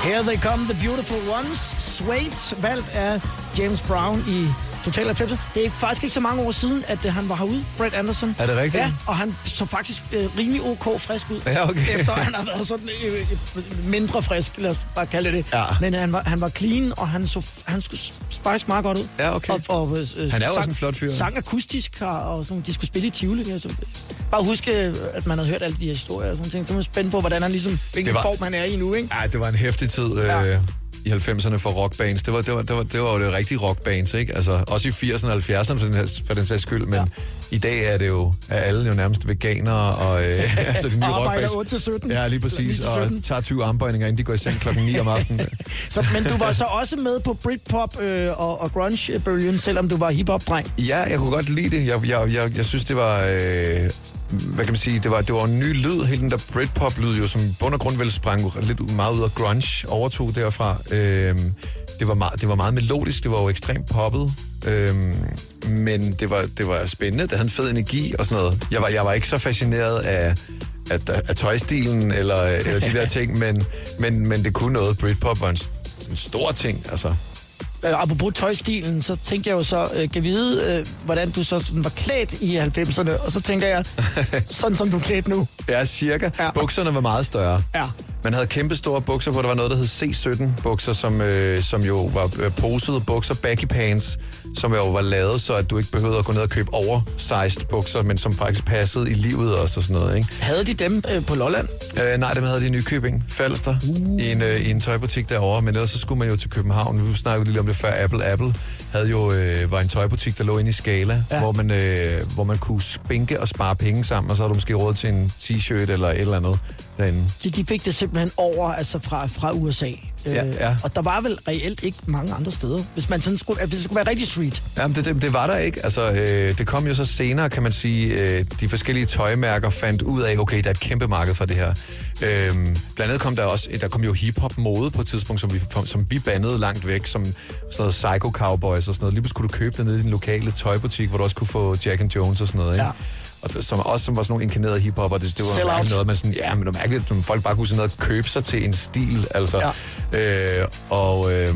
[SPEAKER 2] Here they come, the beautiful ones. Suede, valgt af James Brown i Total halvfems. Det er faktisk ikke så mange år siden, at uh, han var herude, Brett Anderson.
[SPEAKER 3] Er det rigtigt?
[SPEAKER 2] Ja, og han så faktisk uh, rimelig ok frisk ud.
[SPEAKER 3] Ja, okay.
[SPEAKER 2] Efter han har været sådan uh, mindre frisk, lad os bare kalde det.
[SPEAKER 3] Ja.
[SPEAKER 2] Men uh, han, var, han var clean, og han så han skulle faktisk meget godt ud.
[SPEAKER 3] Ja, okay.
[SPEAKER 2] Og, og, uh,
[SPEAKER 3] han er jo også en flot fyr.
[SPEAKER 2] Sang akustisk, og sådan, de skulle spille i Tivoli. Altså. Bare huske, at man havde hørt alle de her historier og sådan ting. Så man er spændt på, hvordan han ligesom, hvilken var, form han er i nu, ikke?
[SPEAKER 3] Ja, det var en hæftig tid. Ja. Øh, i halvfemserne for rockbands. Det var, det var, det var, det var jo det rigtige rockbands, ikke? Altså, også i firserne og halvfjerdserne for den, her, for den sags skyld, men ja. I dag er det jo, er alle jo nærmest veganere, og øh, altså de nye rockbands.
[SPEAKER 2] otte til sytten.
[SPEAKER 3] Ja, lige præcis, og tager tyve armbøjninger, inden de går i seng klokken ni om aftenen.
[SPEAKER 2] Så, men du var så også med på Britpop øh, og, og grunge-bølgen, selvom du var hiphop-dreng?
[SPEAKER 3] Ja, jeg kunne godt lide det. Jeg, jeg, jeg, jeg synes, det var... Øh, hvad kan man sige, det var, det var en ny lyd, hele den der Britpop-lyd, jo, som i bund og grund vel sprang lidt meget ud af grunge, overtog derfra. Øhm, det, var meget, det var meget melodisk, det var jo ekstremt poppet, øhm, men det var, det var spændende, det havde en fed energi og sådan noget. Jeg var, jeg var ikke så fascineret af, af, af tøjstilen eller, eller de der ting, men, men, men det kunne noget. Britpop var en, en stor ting, altså.
[SPEAKER 2] Apropos tøjstilen, så tænker jeg jo så, øh, kan vide, øh, hvordan du så sådan var klædt i halvfemserne, og så tænker jeg, sådan som du er klædt nu.
[SPEAKER 3] Ja, cirka. Ja. Bukserne var meget større.
[SPEAKER 2] Ja.
[SPEAKER 3] Man havde kæmpe store bukser på, der var noget, der hed C sytten bukser, som, øh, som jo var øh, posede bukser, baggy pants, som jo var lavet, så at du ikke behøvede at gå ned og købe oversized bukser, men som faktisk passede i livet også og sådan noget, ikke?
[SPEAKER 2] Havde de dem øh, på Lolland?
[SPEAKER 3] Øh, nej, dem havde de i Nykøbing, Falster, uh. i, en, øh, i en tøjbutik derovre, men ellers så skulle man jo til København. Vi snakkede lige om det før, Apple Apple havde jo, øh, var en tøjbutik, der lå inde i Scala, ja. hvor, man, øh, hvor man kunne spinke og spare penge sammen, og så havde du måske råd til en t-shirt eller et eller andet derinde.
[SPEAKER 2] Så de fik det simpelthen over, altså fra, fra U S A.
[SPEAKER 3] Ja, ja.
[SPEAKER 2] Øh, og der var vel reelt ikke mange andre steder, hvis man sådan skulle, hvis det skulle være rigtig street.
[SPEAKER 3] Jamen, det, det, det var der ikke. Altså, øh, det kom jo så senere, kan man sige, øh, de forskellige tøjmærker fandt ud af, okay, der er et kæmpe marked for det her. Øh, blandt andet kom der også, der kom jo hiphop-mode på et tidspunkt, som vi, som vi bandede langt væk, som sådan noget Psycho Cowboys og sådan noget. Lige pludselig kunne du købe det nede i din lokale tøjbutik, hvor du også kunne få Jack and Jones og sådan noget, ikke? Ja. Og det, som også som var sådan nogle inkarnerede hiphopper, det, det var mærkeligt noget, man sådan, ja, men det var mærkeligt, at folk bare kunne sådan noget købe sig til en stil, altså. Ja. Øh, og øh,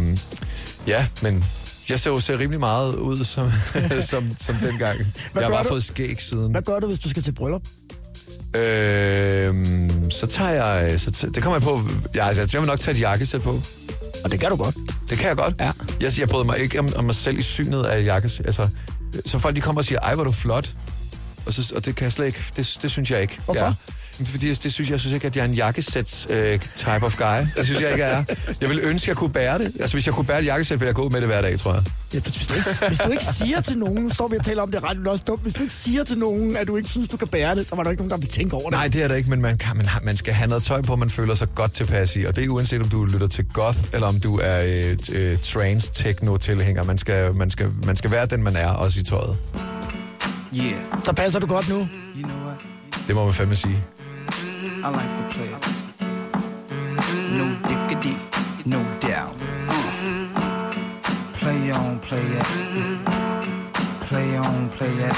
[SPEAKER 3] ja, men jeg ser jo ser rimelig meget ud som, som, som dengang. Jeg har bare du? fået skæg siden.
[SPEAKER 2] Hvad gør du, hvis du skal til bryllup?
[SPEAKER 3] Øh, så tager jeg, så t- det kommer jeg på, ja, altså, jeg vil nok tage et jakkesæt på.
[SPEAKER 2] Og det kan du godt.
[SPEAKER 3] Det kan jeg godt.
[SPEAKER 2] Ja.
[SPEAKER 3] Jeg, jeg bryder mig ikke om, om mig selv i synet af jakkesæt. Altså, så folk de kommer og siger, ej, hvor er du flot. Og, så, og det kan jeg slet ikke, det, det synes jeg ikke.
[SPEAKER 2] Hvorfor?
[SPEAKER 3] Ja. Fordi det synes jeg synes ikke, at jeg er en jakkesæts øh, type of guy. Det synes jeg ikke, jeg er. Jeg vil ønske, at jeg kunne bære det. Altså, hvis jeg kunne bære et jakkesæt, ville jeg gå ud med det hver dag, tror jeg.
[SPEAKER 2] Ja, hvis, du ikke, hvis du ikke siger til nogen, nu står vi og taler om det ret, men også dumt. Hvis du ikke siger til nogen, at du ikke synes, du kan bære det, så var der ikke nogen, der vil tænke over det.
[SPEAKER 3] Nej, det er der ikke, men man, kan, man, man skal have noget tøj på, man føler sig godt tilpas i. Og det er uanset, om du lytter til goth, eller om du er øh, øh, trance-techno-tilhænger. Man skal, man, skal, man skal være den, man er, også i tøjet.
[SPEAKER 2] Yeah. Så passer du godt nu?
[SPEAKER 10] You know what?
[SPEAKER 3] Det må man fandme sige.
[SPEAKER 10] I like the players. No diggity, no doubt. Uh. Play on, play it. Play on, play it.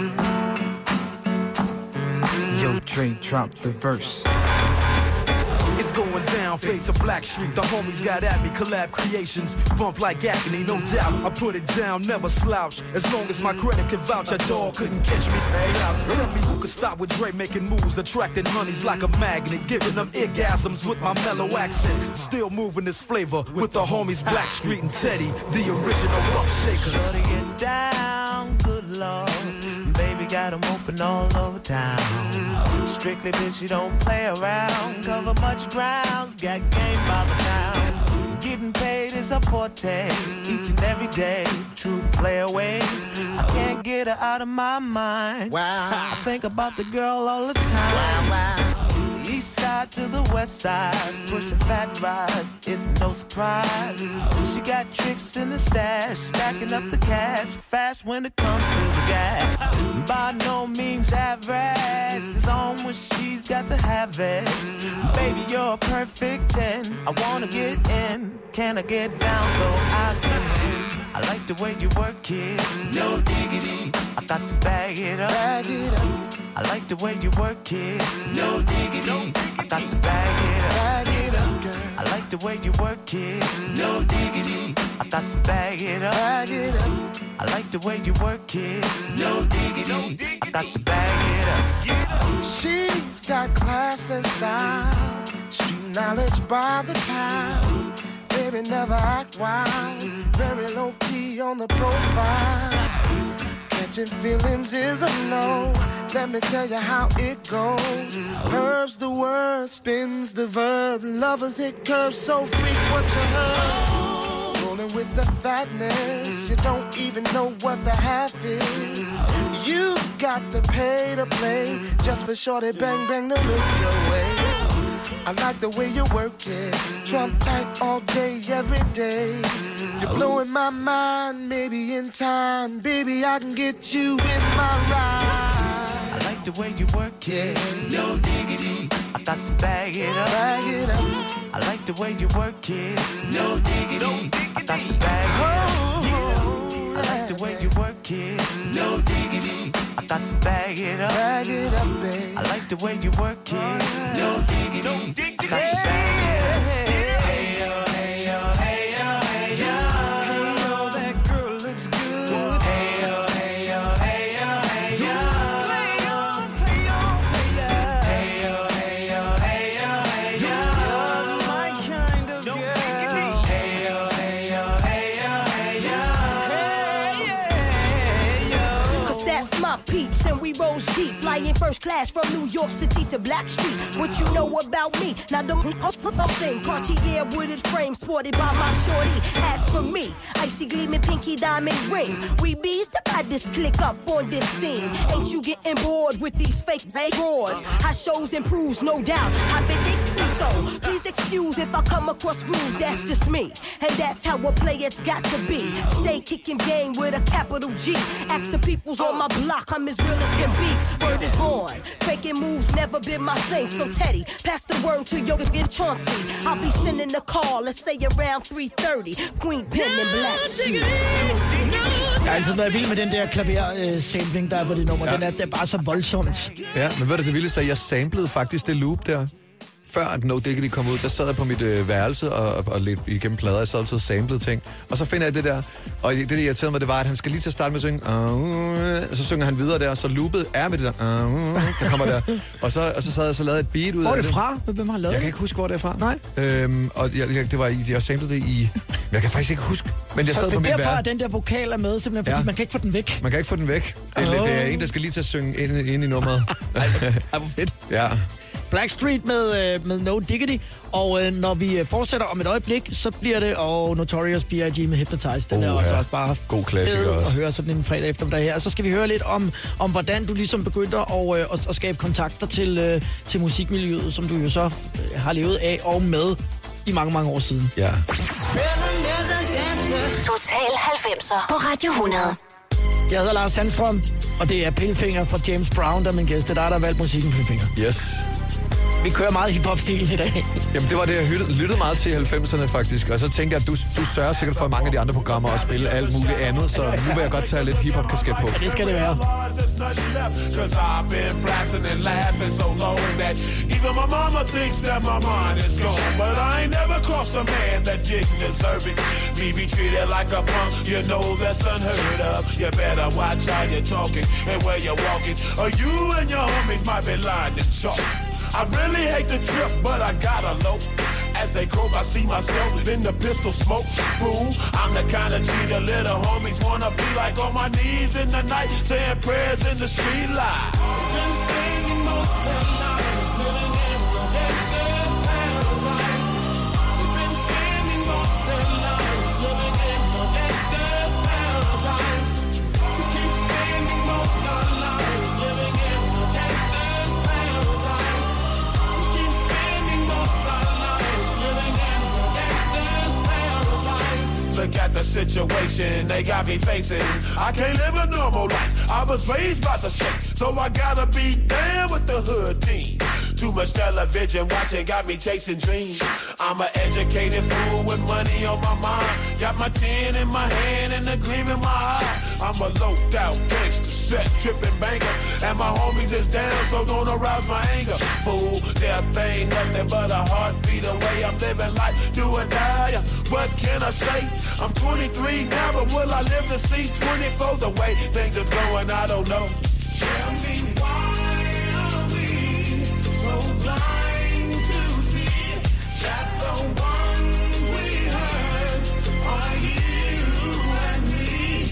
[SPEAKER 10] Yo, Dre, drop the verse.
[SPEAKER 4] It's going down, fade to Black Street. The homies got at me, collab creations. Bump like agony, no doubt. I put it down, never slouch. As long as my credit can vouch, a dog couldn't catch me. Say out. Tell me who could stop with Dre making moves, attracting honeys like a magnet, giving them orgasms with my mellow accent. Still moving this flavor with the homies Black Street and Teddy, the original rough shakers.
[SPEAKER 11] Shorty get down, good lord. Baby got them open all over town. Strictly bitch, you don't play around. Cover much grounds, got game by the pound. Getting paid is a forte, each and every day. True play away, I can't get her out of my mind. Wow, I think about the girl all the time. Wow, wow. East side to the west side, pushing fat rides, it's no surprise. She got tricks in the stash, stacking up the cash, fast when it comes to the gas. By no means average, it's on when she's got to have it. Baby, you're a perfect ten, I wanna get in, can I get down so I can win? I like the way you work it, no diggity, I got to bag it up, bag it up. I like the way you work it, no diggity, I got to bag it up, bag it up, girl. I like like the way you work it. No diggity. I got to bag it up. Bag it up. I like the way you work it. No diggity. I got to bag it up.
[SPEAKER 12] She's got class and style. Street knowledge by the pound. Baby, never act wild. Very low key on the profile. Catching feelings is a no. Let me tell you how it goes. Curves the word, spins the verb. Lovers hit curves so freak what you heard. Rolling with the fatness. You don't even know what the half is. You got to pay to play just for shorty bang bang to look your way. I like the way you work it. Trump tight all day, every day. You're blowing my mind, maybe in time. Baby, I can get you in my ride.
[SPEAKER 11] I like the way you work it. No diggity. I got to bag it up.
[SPEAKER 12] Bag it up.
[SPEAKER 11] I like the way you work it. No diggity. I got to bag it up. I like the way you work it. No diggity. I got to bag it up.
[SPEAKER 12] Bag it up, babe.
[SPEAKER 11] I like the way you work it. No diggity. I got to bag it up. Hey yo, hey yo, hey yo, hey yo. Hey yo, that girl looks good. Hey yo, hey yo, hey yo, hey yo. Play on, play on, play on. Hey yo, hey yo, hey yo, hey yo. You're my kind of girl. Hey yo, hey yo, hey yo, hey yo. Hey yo.
[SPEAKER 13] Cause that's my peeps and we roll deep. Flying first class from New York City to Blackstreet. What you know about me? Now the thing Cartier wooded frame sported by my shorty. As for me, icy gleaming pinky diamond ring. We bees the baddest click up on this scene. Ain't you getting bored with these fake broads? How shows improves, no doubt. I've been thinking so. Please excuse if I come across rude. That's just me, and that's how a player's got to be. Stay kicking game with a capital G. Ask the peoples on my block, I'm as real as can be. Word is born. Faking moves never been my thing. So Teddy, pass the word to your and Chauncey. I'll be sending a call, let's say around three thirty. Queen Pen and Black Sheep.
[SPEAKER 2] Jeg har altid været vild med den der klaver-sampling, der er på det nummer. Ja. Den er, det er bare så voldsomt.
[SPEAKER 3] Ja, men ved du det vildeste, at jeg samplede faktisk det loop der. Før at No Diggity kom ud, der sad jeg på mit øh, værelse og, og lidt igennem plader. Jeg sad altid og samplede ting. Og så finder jeg det der. Og det, der irriterede mig, det var, at han skal lige til at starte med at synge. Uh, og så synger han videre der, og så loopet er med det der. Uh, der kommer der. Og så, og så sad jeg så lavet et beat ud
[SPEAKER 2] hvor
[SPEAKER 3] af det.
[SPEAKER 2] Hvor er det fra? Hvem har lavet det?
[SPEAKER 3] Jeg kan ikke huske, hvor det er fra.
[SPEAKER 2] Nej.
[SPEAKER 3] Øhm, og jeg, jeg, det var, jeg samplede det i... Jeg kan faktisk ikke huske. Men jeg sad
[SPEAKER 2] så
[SPEAKER 3] på mit
[SPEAKER 2] derfor
[SPEAKER 3] værelse.
[SPEAKER 2] er den der vokal er med, simpelthen fordi ja. man kan ikke få den væk.
[SPEAKER 3] Man kan ikke få den væk. Det, oh. det er en, der skal lige til at synge ind, ind i nummeret.
[SPEAKER 2] Ej, hvor fedt.
[SPEAKER 3] Ja.
[SPEAKER 2] Blackstreet med, øh, med No Diggity, og øh, når vi øh, fortsætter om et øjeblik, så bliver det og Notorious B I G med Hypnotize. Den
[SPEAKER 3] oh,
[SPEAKER 2] er også,
[SPEAKER 3] ja.
[SPEAKER 2] også bare
[SPEAKER 3] god klassiker også.
[SPEAKER 2] At høre sådan en fredag eftermiddag her. Og så skal vi høre lidt om, om hvordan du ligesom begyndte at, øh, at, at skabe kontakter til, øh, til musikmiljøet, som du jo så øh, har levet af og med i mange, mange år siden.
[SPEAKER 3] Ja.
[SPEAKER 1] Total halvfemser på Radio hundrede.
[SPEAKER 2] Jeg hedder Lars Sandstrøm, og det er Pilfinger fra James Brown, der er min gæst. Det er dig, der har valgt musikken, Pilfinger.
[SPEAKER 3] Yes.
[SPEAKER 2] Vi kører meget hiphop-stilen i dag.
[SPEAKER 3] Jamen, det var det, jeg lyttede, lyttede meget til i halvfemserne, faktisk. Og så tænker jeg, at du, du sørger sikkert for, at mange af de andre programmer og spille alt muligt andet. Så nu vil jeg godt tage lidt hiphop-kasket på.
[SPEAKER 2] Ja, det skal det være.
[SPEAKER 4] I really hate the trip, but I gotta low. As they croak, I see myself in the pistol smoke. Fool, I'm the kind of G the little homies wanna be like, on my knees in the night, saying prayers in the street light. Been staying most of the night, living in the gangster's paradise. Been standing most of the night, living in the gangster's paradise. We keep standing most of the night, living in the gangster's paradise. Look at the situation they got me facing. I can't live a normal life. I was raised by the street, so I gotta be down with the hood team. Too much television watching got me chasing dreams. I'm an educated fool with money on my mind. Got my tin in my hand and a gleam in my eye. I'm a low-out gangster.
[SPEAKER 14] set, tripping banker. And my homies is down, so don't arouse my anger. Fool, death ain't nothing but a heartbeat away. I'm living life, do or die. What can I say? I'm twenty-three now, but will I live to see twenty-four? The way things is going, I don't know. Tell me why are we so blind to see that the ones we hurt are you and me?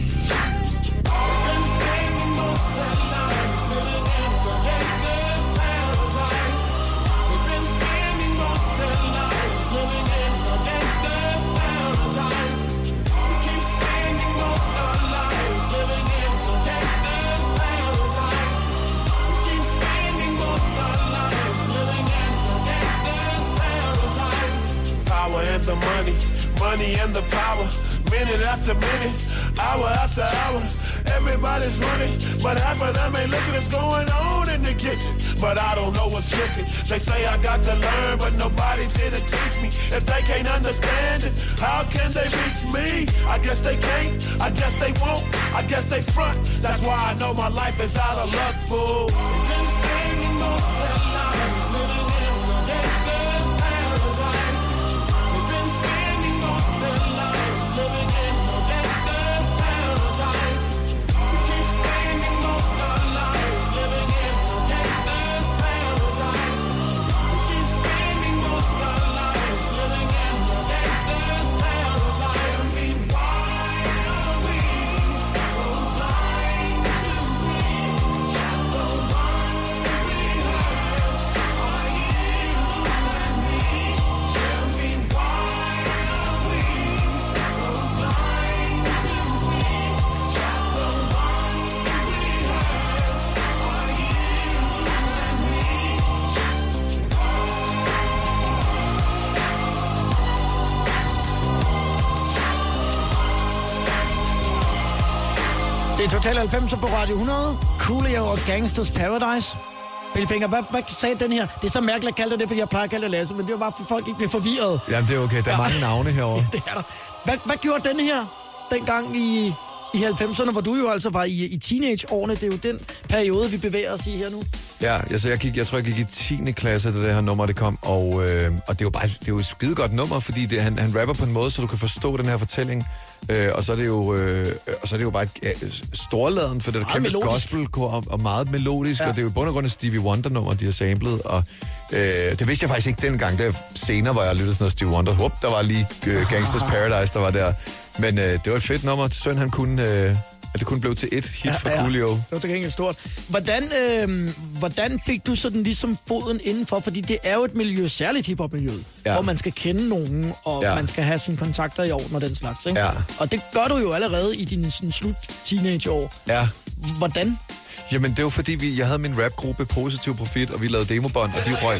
[SPEAKER 14] We've been spending most of our lives living in the gangster's paradise. We've been spending most of our lives living in the gangster's paradise. We keep spending most of our lives living in the gangster's paradise. We keep spending most of our lives living in the gangster's paradise. Power and the money, money and the power. Minute after minute, hour after hour, everybody's running, but half of them ain't looking what's going on in the kitchen. But I don't know what's cooking. They say I got to learn, but nobody's here to teach me. If they can't understand it, how can they reach me? I guess they can't, I guess they won't, I guess they front. That's why I know my life is out of luck, fool. We've been spending most of our lives living in the gangster's paradise. We've been spending most of our lives living in the gangster's paradise. We keep spending most of our lives living in the gangster's paradise. We keep spending most of our lives living in the gangster's paradise. Tell me why are we so blind to see that the ones we hurt are you and me? Tell me why are we so blind to see that the ones we hurt are you and me?
[SPEAKER 2] Det er Total halvfemser på Radio hundrede. Coolio og Gangsters Paradise. Bilfinger, hvad, hvad sagde den her? Det er så mærkeligt at kalde det det, fordi jeg plejer at kalde det Lasse, men det var bare for folk ikke bliver forvirret.
[SPEAKER 3] Jamen, det er okay. Der er
[SPEAKER 2] Ja.
[SPEAKER 3] mange navne herovre.
[SPEAKER 2] Ja, det er der. Hvad, hvad gjorde den her dengang i, i halvfemserne, hvor du jo altså var i, i teenageårene? Det er jo den periode, vi bevæger os i her nu.
[SPEAKER 3] Ja, altså jeg, gik, jeg tror, jeg gik i tiende klasse, da det her nummer det kom, og, øh, og det er jo bare det er jo et skide godt nummer, fordi det, han, han rapper på en måde, så du kan forstå den her fortælling. Øh, og så er det jo øh, og så er det jo bare et, ja, storladen, for det er kæmpe gospelkor og, og meget melodisk, ja. Og det er jo i bund og grund et Stevie Wonder-nummer, de har samlet, og øh, det vidste jeg faktisk ikke dengang. Det er senere, hvor jeg lyttede sådan noget Stevie Wonder. Hup, der var lige øh, Gangsters Paradise, der var der. Men øh, det var et fedt nummer. Synd, han kunne... Øh, at det kun blev til et hit ja, for Coolio.
[SPEAKER 2] Det var til gengæld stort. Hvordan, øh, hvordan fik du sådan ligesom foden indenfor? Fordi det er jo et miljø, særligt hiphop-miljøet, ja. Hvor man skal kende nogen, og ja. Man skal have sine kontakter i orden og den slags. Ikke?
[SPEAKER 3] Ja.
[SPEAKER 2] Og det gør du jo allerede i dine sådan, slut teenageår.
[SPEAKER 3] Ja.
[SPEAKER 2] Hvordan?
[SPEAKER 3] Jamen, det var fordi, vi, jeg havde min rapgruppe Positiv Profit, og vi lavede demobånd, og de røg.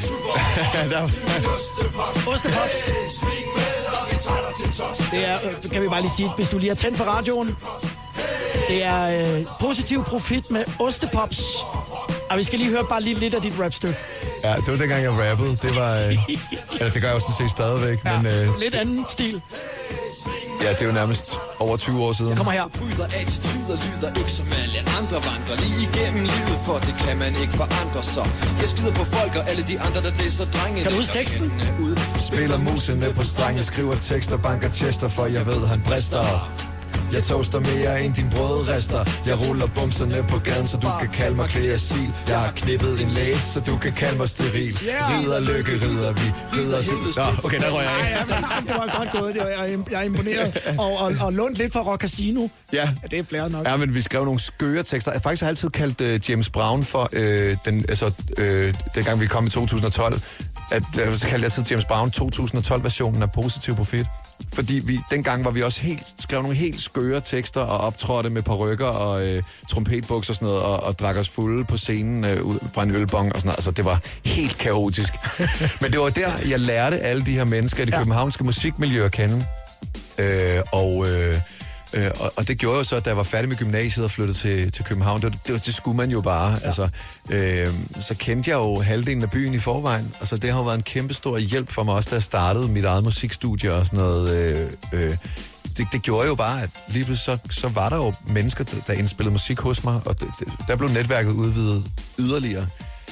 [SPEAKER 2] Ostepops. Det er, øh, kan vi bare lige sige, hvis du lige har tændt for radioen. Det er øh, Positiv Profit med Ostepops. Og vi skal lige høre bare lige lidt af dit rapstykke.
[SPEAKER 3] Ja, det var dengang, jeg rappede. Det var... Øh, eller det gør jeg jo sådan set stadigvæk,
[SPEAKER 2] ja,
[SPEAKER 3] men... Øh,
[SPEAKER 2] lidt anden stil.
[SPEAKER 3] Ja, det er jo nærmest over tyve år siden.
[SPEAKER 2] Jeg kommer her.
[SPEAKER 7] Bryder attituder lyder ikke som alle andre vandrer lige igennem livet, for det kan man ikke forandre sig. Jeg skider på folk og alle de andre, der disser drenge.
[SPEAKER 2] Kan du huske teksten?
[SPEAKER 7] Ud.
[SPEAKER 3] Spiller musene på strenge, skriver tekster, banker chester, for jeg ved, han brister. Jeg toaster mere end din brødrester. Jeg ruller bumserne på gaden, så du kan kalde mig kreasil. Jeg har knippet en læge, så du kan kalde mig steril. Ridder, lykke, ridder vi, ridder du. Nå, okay, der røg jeg af.
[SPEAKER 2] Ja, det var godt gået. Jeg er imponeret. Og, og, og lånt lidt fra Rock Casino.
[SPEAKER 3] Ja.
[SPEAKER 2] Ja, det er flere nok.
[SPEAKER 3] Ja, men vi skrev nogle skøre tekster. Jeg faktisk har altid kaldt uh, James Brown for, uh, den, altså, uh, dengang vi kom i to tusind og tolv, at uh, så kaldte jeg altid James Brown to tusind og tolv-versionen af Positiv Profit. Fordi vi, dengang var vi også helt, skrev nogle helt skøre tekster og optrådte med parykker og øh, trompetbuks og sådan noget, og, og drak os fulde på scenen øh, ud fra en ølbong og sådan noget. Altså, det var helt kaotisk. Men det var der, jeg lærte alle de her mennesker i det ja. københavnske musikmiljø at kende. Øh, og, øh, øh, og, og det gjorde jo så, at da jeg var færdig med gymnasiet og flyttede til, til København, det, det, det skulle man jo bare. Ja. Altså, øh, så kendte jeg jo halvdelen af byen i forvejen. Altså, det har jo været en kæmpe stor hjælp for mig også, da jeg startede mit eget musikstudie og sådan noget. Øh, øh, det, det gjorde jo bare, at lige pludselig så, så var der jo mennesker, der, der indspillede musik hos mig, og det, det, der blev netværket udvidet yderligere.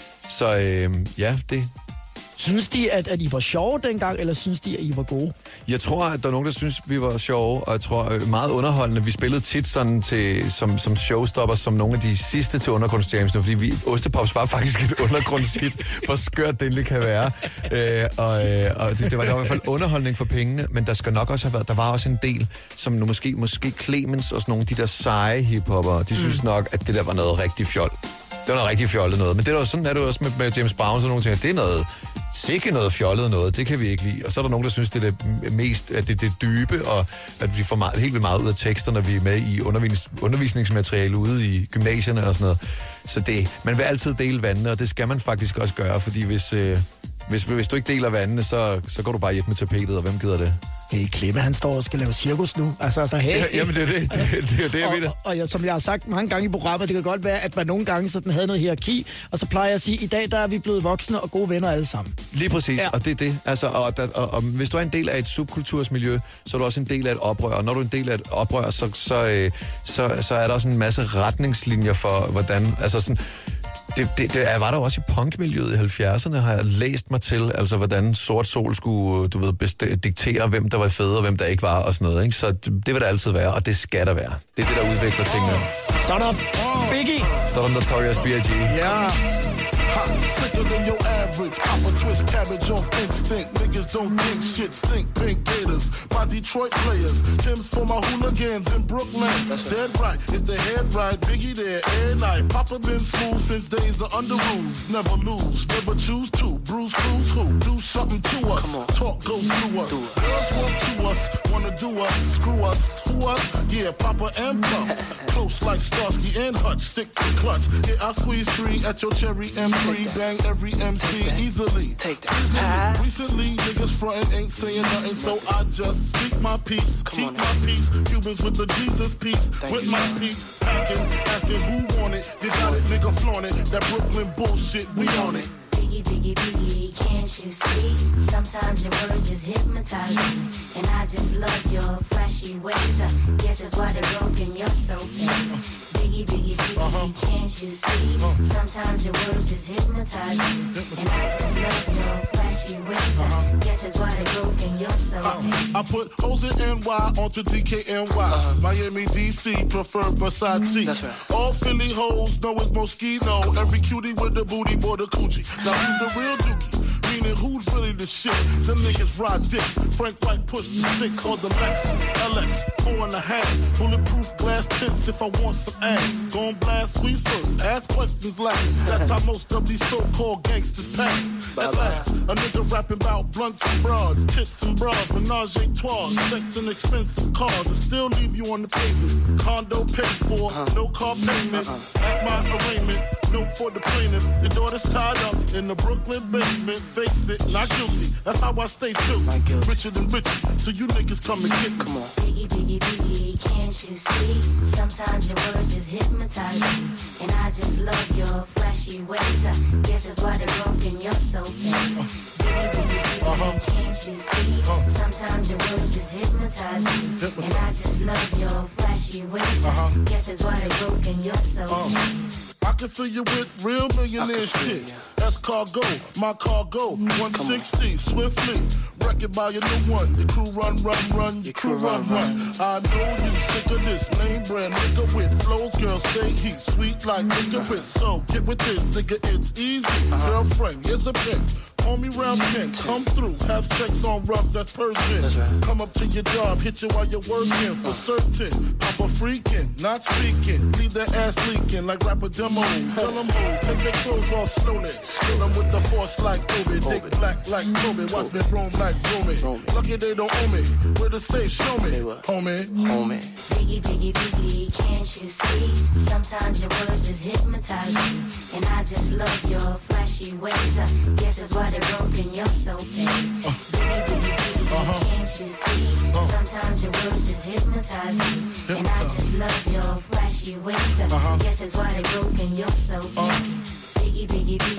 [SPEAKER 3] Så øh, ja, det...
[SPEAKER 2] Synes de, at, at I var sjove dengang, eller synes de, at I var gode?
[SPEAKER 3] Jeg tror, at der er nogen, der synes, vi var sjove, og jeg tror øh, meget underholdende. Vi spillede tit sådan til, som, som showstopper, som nogle af de sidste til undergrundsjamsene, fordi vi, Ostepops var faktisk et undergrundshit, hvor skørt det egentlig kan være. Øh, og øh, og det, det var i hvert fald underholdning for pengene, men der skal nok også have været, der var også en del, som nu måske, måske Clemens og sådan nogle af de der seje hiphopper, de synes mm. nok, at det der var noget rigtig fjol. Det var noget rigtig fjollet noget, men det er jo sådan, er det jo også med, med James Brown, så nogle ting, det er noget, sikke noget fjollet noget, det kan vi ikke lide. Og så er der nogen, der synes, det er det mest, at det er det dybe, og at vi får meget, helt vildt meget ud af tekster, når vi er med i undervis, undervisningsmateriale ude i gymnasierne og sådan noget. Så det, man vil altid dele vandene, og det skal man faktisk også gøre, fordi hvis, øh, hvis, hvis du ikke deler vandene, så, så går du bare hjem med tapetet, og hvem gider det?
[SPEAKER 2] Hey, Klemme, han står og skal lave cirkus nu. Altså, altså hey.
[SPEAKER 3] Ja, jamen, det er det. Det, det, det er det, jeg
[SPEAKER 2] og,
[SPEAKER 3] ved det.
[SPEAKER 2] Og, og jeg, som jeg har sagt mange gange i programmet, det kan godt være, at man nogle gange sådan havde noget hierarki, og så plejer jeg at sige, at i dag der er vi blevet voksne og gode venner alle sammen.
[SPEAKER 3] Lige præcis, ja. Og det er det. Altså, og, og, og, og hvis du er en del af et subkultursmiljø, så er du også en del af et oprør. Og når du er en del af et oprør, så, så, øh, så, så er der også en masse retningslinjer for, hvordan... Altså sådan, Det, det, det var der også i punkmiljøet i halvfjerdserne, har jeg læst mig til, altså hvordan Sort Sol skulle, du ved, best- diktere, hvem der var fede og hvem der ikke var og sådan noget, ikke? Så det, det vil der altid være, og det skal der være. Det er det, der udvikler tingene.
[SPEAKER 2] Så er der Biggie.
[SPEAKER 3] Så er der Notorious B I G
[SPEAKER 2] Ja.
[SPEAKER 14] Ha, sicker than your average. Pop a twist cabbage off instinct. Niggas don't think shit stink. Pink Gators, my Detroit players. Tim's for my hooligans in Brooklyn. That's dead right. If the head right, Biggie there every night. Papa been smooth since days of under rules. Never lose, never choose to. Bruce Cruz who? Do something to us. Talk goes through us. Girls want to us, wanna do us. Screw us, who us? Yeah, Papa and Plum. Close like Starsky and Hutch. Stick to clutch. Yeah, I squeeze three at your cherry M three. Bang every M C easily.
[SPEAKER 15] Take that.
[SPEAKER 14] Recently, recently, niggas frontin' ain't saying nothing, so I just speak my peace. Keep my peace. Cubans with the Jesus peace. With my peace. Packing, asking who want it. You got it, nigga, flaunt it. That Brooklyn bullshit, we on it.
[SPEAKER 16] Biggie, biggie, biggie, can't you see? Sometimes your words just hypnotize me. And I just love your flashy ways. I guess that's why they're broken, you're so fake. Biggie, biggie, biggie, uh-huh. can't you see? Uh-huh. Sometimes your words just hypnotize me. And I just love your flashy ways. I uh-huh. guess that's why they're broken, you're so fake.
[SPEAKER 14] Uh, I put O's in N Y onto D K N Y. Uh-huh. Miami, D C, prefer Versace.
[SPEAKER 15] That's right.
[SPEAKER 14] All Philly hoes know it's Moschino. Every cutie with the booty, boy, the coochie. Now who's the real dookie? Meaning who's really the shit? Them niggas ride dicks. Frank White pushed the six on the Lexus L X. Four and a half. Bulletproof glass tips if I want some ass. Gon' blast squeeze first. Ask questions last. That's how most of these so-called gangsters pass. At last, a nigga rapping about blunts and broads, tits and bras, menage a trois, sex and expensive cars, and still leave you on the pavement. Condo paid for, uh-huh. no car payment. Uh-uh. At my arraignment, note for the plaintiff. Your daughter's tied up in the Brooklyn basement. Face it, not guilty. That's how I stay still. Richer than richer, so you niggas come and get me.
[SPEAKER 16] Come on. Biggie, biggie, biggie, can't you see? Sometimes your words just hypnotize me. And I just love your flashy ways. I guess that's why they're broken, you're so fake. Biggie, biggie, biggie, uh-huh. can't you see? Uh-huh. Sometimes your words just hypnotize me. Hypnotize. And I just love your flashy ways. Uh-huh. I guess that's why they're broken, you're so uh-huh. fake.
[SPEAKER 14] I can fill you with real millionaire shit. That's cargo, my cargo, one sixty, swiftly. Wreck it by your new one. Your crew run, run, run, your crew run, run. I know you sick of this name brand nigga with flows. Girls say he's sweet like licorice. So get with this, nigga, it's easy. Girlfriend, here's a pick. Call me round ten, come through, have sex on rubs, that's Persian. That's right. Come up to your job, hit you while you're working, for certain. Papa freaking, not speaking, leave that ass leaking like rapper demo. Tell them move, take their clothes off slowly. Kill them with the force like Kobe, dick black like Kobe, watch me roam like Romy. Lucky they don't owe me, where to say, show me, homie.
[SPEAKER 15] Homie.
[SPEAKER 16] Biggie, biggie, biggie, can't you see? Sometimes your words just hypnotize me. And I just love your flashy ways. I guess that's why they're broken, you're so fake. Uh, biggie, biggie, biggie, uh-huh. can't you see? Uh, Sometimes your words just hypnotize me. Hypnotize. And I just love your flashy ways. I uh-huh. guess that's why they're broken, you're so fake. Uh, Biggie, biggie, biggie,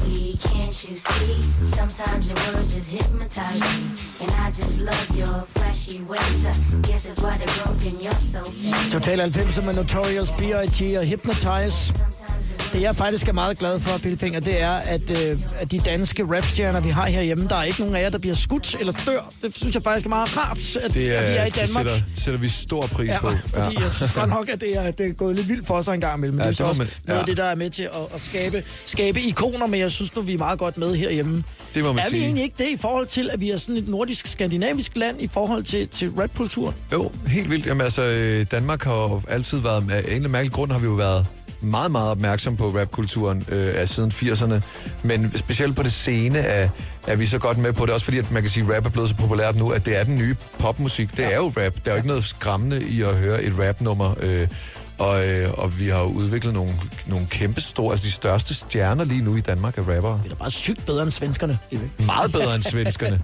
[SPEAKER 16] can't you see? Sometimes your words just hypnotize me. And I just love your flashy ways. I guess it's why they're broken, you're so fake.
[SPEAKER 2] Total halvfems med Notorious, B I G og Hypnotize. Det jeg faktisk er meget glad for, Pilfinger, det er, at, øh, at de danske rapstjerner, vi har herhjemme, der er ikke nogen af jer, der bliver skudt eller dør. Det synes jeg faktisk er meget rart, at,
[SPEAKER 3] Det, er,
[SPEAKER 2] at vi er i
[SPEAKER 3] det
[SPEAKER 2] Danmark.
[SPEAKER 3] sætter, sætter vi stor pris
[SPEAKER 2] Ja,
[SPEAKER 3] på.
[SPEAKER 2] fordi jeg synes godt nok, at det er, det er gået lidt vildt for os en gang imellem. Men
[SPEAKER 3] Ja,
[SPEAKER 2] det er
[SPEAKER 3] det
[SPEAKER 2] så
[SPEAKER 3] må
[SPEAKER 2] også
[SPEAKER 3] man-
[SPEAKER 2] noget af
[SPEAKER 3] ja.
[SPEAKER 2] det, der er med til at, at skabe, skabe ikoner, men jeg synes nu, vi er meget godt med herhjemme.
[SPEAKER 3] Det må man
[SPEAKER 2] er vi
[SPEAKER 3] sige.
[SPEAKER 2] egentlig ikke det i forhold til, at vi er sådan et nordisk-skandinavisk land i forhold til, til rapkulturen?
[SPEAKER 3] Jo, helt vildt. Jamen altså, øh, Danmark har jo altid været, af en eller anden mærkelig grund har vi jo været meget, meget opmærksom på rapkulturen øh, af siden firserne. Men specielt på det scene er, er vi så godt med på det. Også fordi, at man kan sige, at rap er blevet så populært nu, at det er den nye popmusik. Det ja. er jo rap. Der er jo ikke noget skræmmende i at høre et rapnummer. Øh, og, øh, og vi har jo udviklet nogle, nogle kæmpe store, altså de største stjerner lige nu i Danmark er rappere.
[SPEAKER 2] Det er da bare sygt bedre end svenskerne.
[SPEAKER 3] Meget bedre end svenskerne.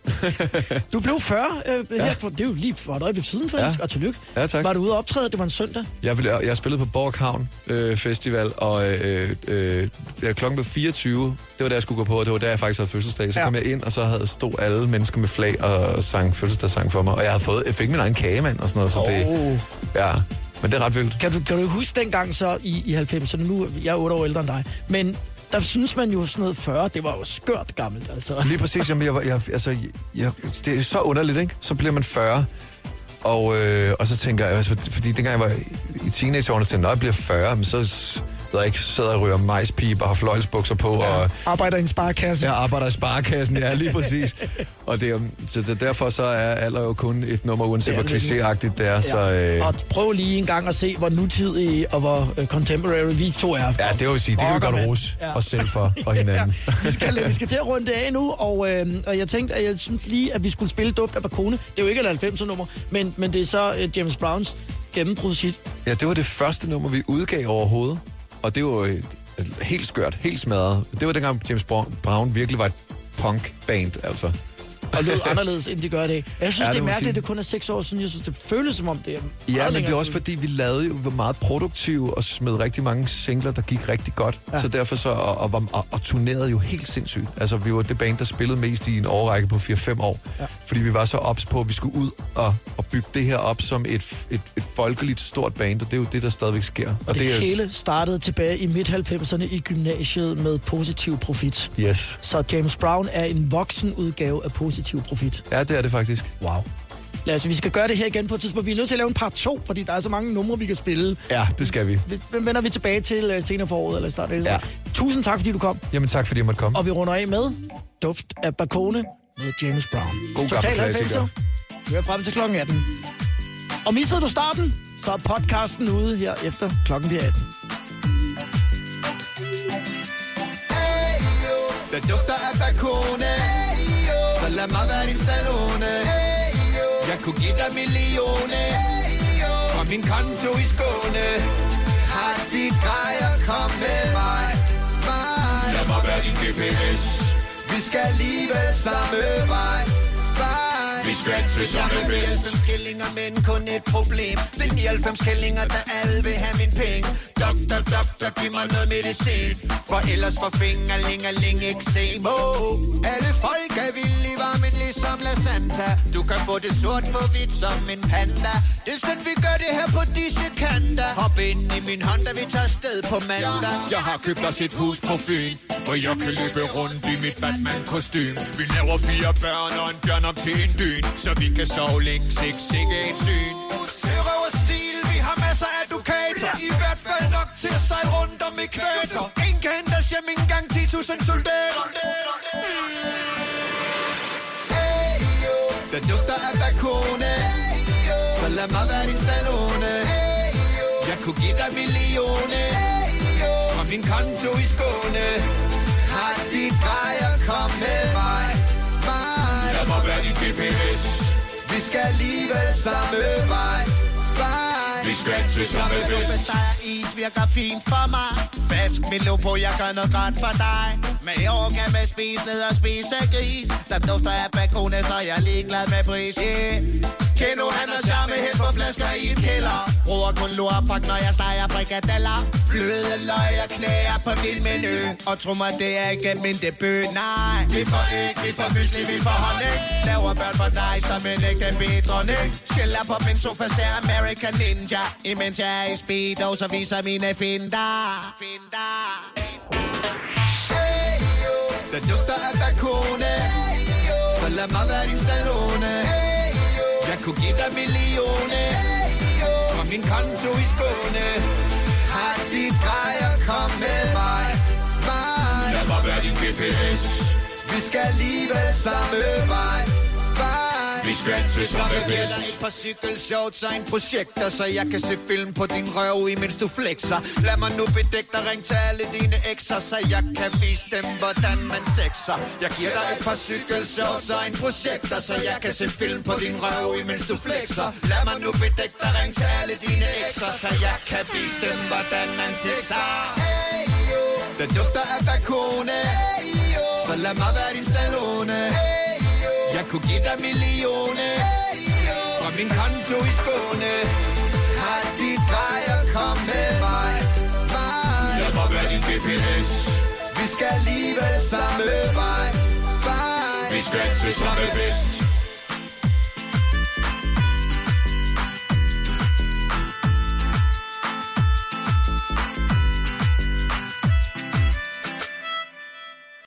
[SPEAKER 2] Du blev fyrre øh, ja. her for, det er jo lige for et øjeblik siden faktisk, ja. Og tillykke.
[SPEAKER 3] Ja, tak.
[SPEAKER 2] Var du ude at optræde? Det var en søndag.
[SPEAKER 3] Jeg, ville, jeg spillede på Borg Havn øh, Festival, og øh, øh, da klokken blev fireogtyve, det var da jeg skulle gå på, og det var da jeg faktisk havde fødselsdag. Så ja. kom jeg ind, og så havde stod alle mennesker med flag og sang fødselsdagssang for mig. Og jeg havde fået, jeg fik min egen kagemand og sådan noget, så
[SPEAKER 2] oh.
[SPEAKER 3] det, ja, men det er ret vildt.
[SPEAKER 2] Kan du, kan du huske dengang så i, i halvfemserne, nu jeg er otte år ældre end dig, men der synes man jo sådan noget fyrre, det var jo skørt gammelt, altså.
[SPEAKER 3] Lige præcis, jamen, jeg, var- jeg, altså, jeg, det er så underligt, ikke? Så bliver man fyrre, og, øh, og så tænker jeg, altså, fordi dengang jeg var i teenageårene, så tænkte jeg, når jeg bliver fyrre, men så ved jeg ikke, sidder og ryger majspiber og har fløjlsbukser på, ja, og
[SPEAKER 2] arbejder i en sparekasse.
[SPEAKER 3] jeg arbejder i sparekassen, ja, lige præcis. Og det er, jo- så det, derfor så er alder jo kun et nummer, uanset hvor klichéagtigt det er. Ja. Så, øh,
[SPEAKER 2] Og prøv lige en gang at se, hvor nutidige og hvor uh, contemporary vi to er.
[SPEAKER 3] ja, det vil sige, det kan vi godt rose
[SPEAKER 2] Ja.
[SPEAKER 3] os selv for, og hinanden.
[SPEAKER 2] vi, skal, vi skal til at runde det af nu, og, øh, og jeg tænkte, at jeg synes lige, at vi skulle spille Duft af Bakone. Det er jo ikke et halvfemser nummer, men, men det er så uh, James Browns gennembrudshit.
[SPEAKER 3] Ja, det var det første nummer, vi udgav overhovedet. Og det var jo et, et, helt skørt, helt smadret. Det var dengang James Brown, Brown virkelig var et punk-band, altså.
[SPEAKER 2] Og lød anderledes, end de gør i dag. Jeg synes,
[SPEAKER 3] Ja,
[SPEAKER 2] ja,
[SPEAKER 3] det
[SPEAKER 2] det er
[SPEAKER 3] må
[SPEAKER 2] mærkeligt,
[SPEAKER 3] sige.
[SPEAKER 2] at det kun er seks år siden. Jeg synes, det føles som om, det er
[SPEAKER 3] Ja,
[SPEAKER 2] meget
[SPEAKER 3] men det er
[SPEAKER 2] længere
[SPEAKER 3] også
[SPEAKER 2] siden.
[SPEAKER 3] fordi, vi lavede jo var meget produktive og smed rigtig mange singler, der gik rigtig godt.
[SPEAKER 2] Ja.
[SPEAKER 3] Ja. Så derfor så, og, og, var- og, og turnerede jo helt sindssygt. Altså, vi var det band, der spillede mest i en årrække på fire fem år.
[SPEAKER 2] Ja.
[SPEAKER 3] Fordi vi var så ops på, at vi skulle ud og, og bygge det her op som et, et, et folkeligt stort band, og det er jo det, der stadigvæk sker. Og,
[SPEAKER 2] Og det,
[SPEAKER 3] det er,
[SPEAKER 2] hele startede tilbage i midt halvfemserne i gymnasiet med Positiv Profit.
[SPEAKER 3] Yes.
[SPEAKER 2] Så James Brown er en voksen udgave af Positiv Profit.
[SPEAKER 3] Ja, det er det faktisk.
[SPEAKER 2] Wow. Lad os, vi skal gøre det her igen på et tidspunkt. Vi er nødt til at lave en part to, fordi der er så mange numre, vi kan spille.
[SPEAKER 3] Ja, det skal vi.
[SPEAKER 2] Hvem vender vi tilbage til uh, senere for året, eller start af
[SPEAKER 3] Ja.
[SPEAKER 2] Tusind tak, fordi du kom.
[SPEAKER 3] Jamen tak, fordi jeg måtte komme.
[SPEAKER 2] Og vi runder af med Duft af Bakone med James Brown.
[SPEAKER 3] God
[SPEAKER 2] Total
[SPEAKER 3] gammel klassiker.
[SPEAKER 2] halvfemser. Vi er frem til klokken atten. Og missede du starten, så er podcasten ude her efter klokken bliver atten.
[SPEAKER 7] Der dufter af Bakone, så lad mig være din Stallone. Jeg kunne give dig millioner fra min konto i Skåne. Har de grejer, kom med mig, mig. Lad mig være din G P S. Vi skal alligevel samme vej, vej. Vi skal til samme fest. Jeg har nioghalvfems skillinger, men kun et problem. Det er nioghalvfems skillinger, der alle vil have min penge. Doktor, doktor, giv mig noget medicin, for ellers får fingerlingerling eksem. Oh, alle folk er vilde i varmen ligesom La Santa. Du kan få det sort på hvidt som en panda. Det er sådan vi gør det her på disse kanter. Hop ind i min Honda, vi tager sted på mandag. Jeg har købt os et hus på Fyn, hvor jeg kan løbe rundt i mit Batman-kostym. Vi laver fire børn og en bjørn op til en dyn, så vi kan sove længe, ikke sikke et syn. Serøv og stil, vi har masser af dukater. I hvert fald nok til at sejle rundt om ekvator. Ingen kan hente os hjem, ikke engang ti tusind soldater. Der dufter af Bakone, så lad mig være din Stallone. Jeg kunne give dig millioner fra min konto i Skåne. Har de grejer, kom med mig, mig. Lad mig være din G P S. Vi skal alligevel samme vej, vej. Vi skal til samme fest. Der er is, virker fint for mig. Fask mit lov på, jeg gør noget godt for dig. Men i år kan man spise ned og spise gris. Der dufter af Bakone, så jeg er ligeglad med pris, yeah. Keno, han er charme, helt på flasker i en kælder.
[SPEAKER 6] Bruger kun lorpak, når jeg steger frikadeller.
[SPEAKER 7] Bløde løg og knæer på min menu.
[SPEAKER 6] Og tro mig, det er ikke min debut, nej.
[SPEAKER 7] Vi får æg, vi får mysli, vi får honning.
[SPEAKER 6] Laver børn for dig som en ægte bedronning. Chiller på min sofa, ser American Ninja. Imens jeg er i speedo, så viser mine finder. Finder.
[SPEAKER 7] Hey, yo. Der dufter af bakone. Så lad mig være din Stallone. Jeg kunne give dig millioner fra min konto i Skåne. Har dit grejer, kom med mig. Vej.
[SPEAKER 4] Lad mig være din G P S.
[SPEAKER 7] Vi skal alligevel samme vej. Vej.
[SPEAKER 4] Vi skal til samme fest.
[SPEAKER 7] Et par cykelshorts og en projekter, så jeg kan se film på din røv, imens du flexer. Lad mig nu bedække dig, ring til alle dine ekser, så jeg kan vise dem, hvordan man sexer. Jeg giver dig et par cykelshorts og en projekter, så jeg kan se film på din røv, imens du flexer. Lad mig nu bedække dig, ring til alle dine ekser, så jeg kan vise dem, hvordan man sexer. Hey, yo. Der dufter af bakone. Hey, yo. Så lad mig være din Stallone. Hey, yo. Jeg kunne give dig millioner fra min konto i Skåne. Har dit grejer, kom med mig. Vej.
[SPEAKER 4] Lad mig være din G P S.
[SPEAKER 7] Vi skal alligevel samme vej. Vej.
[SPEAKER 4] Vi skal til samme fest.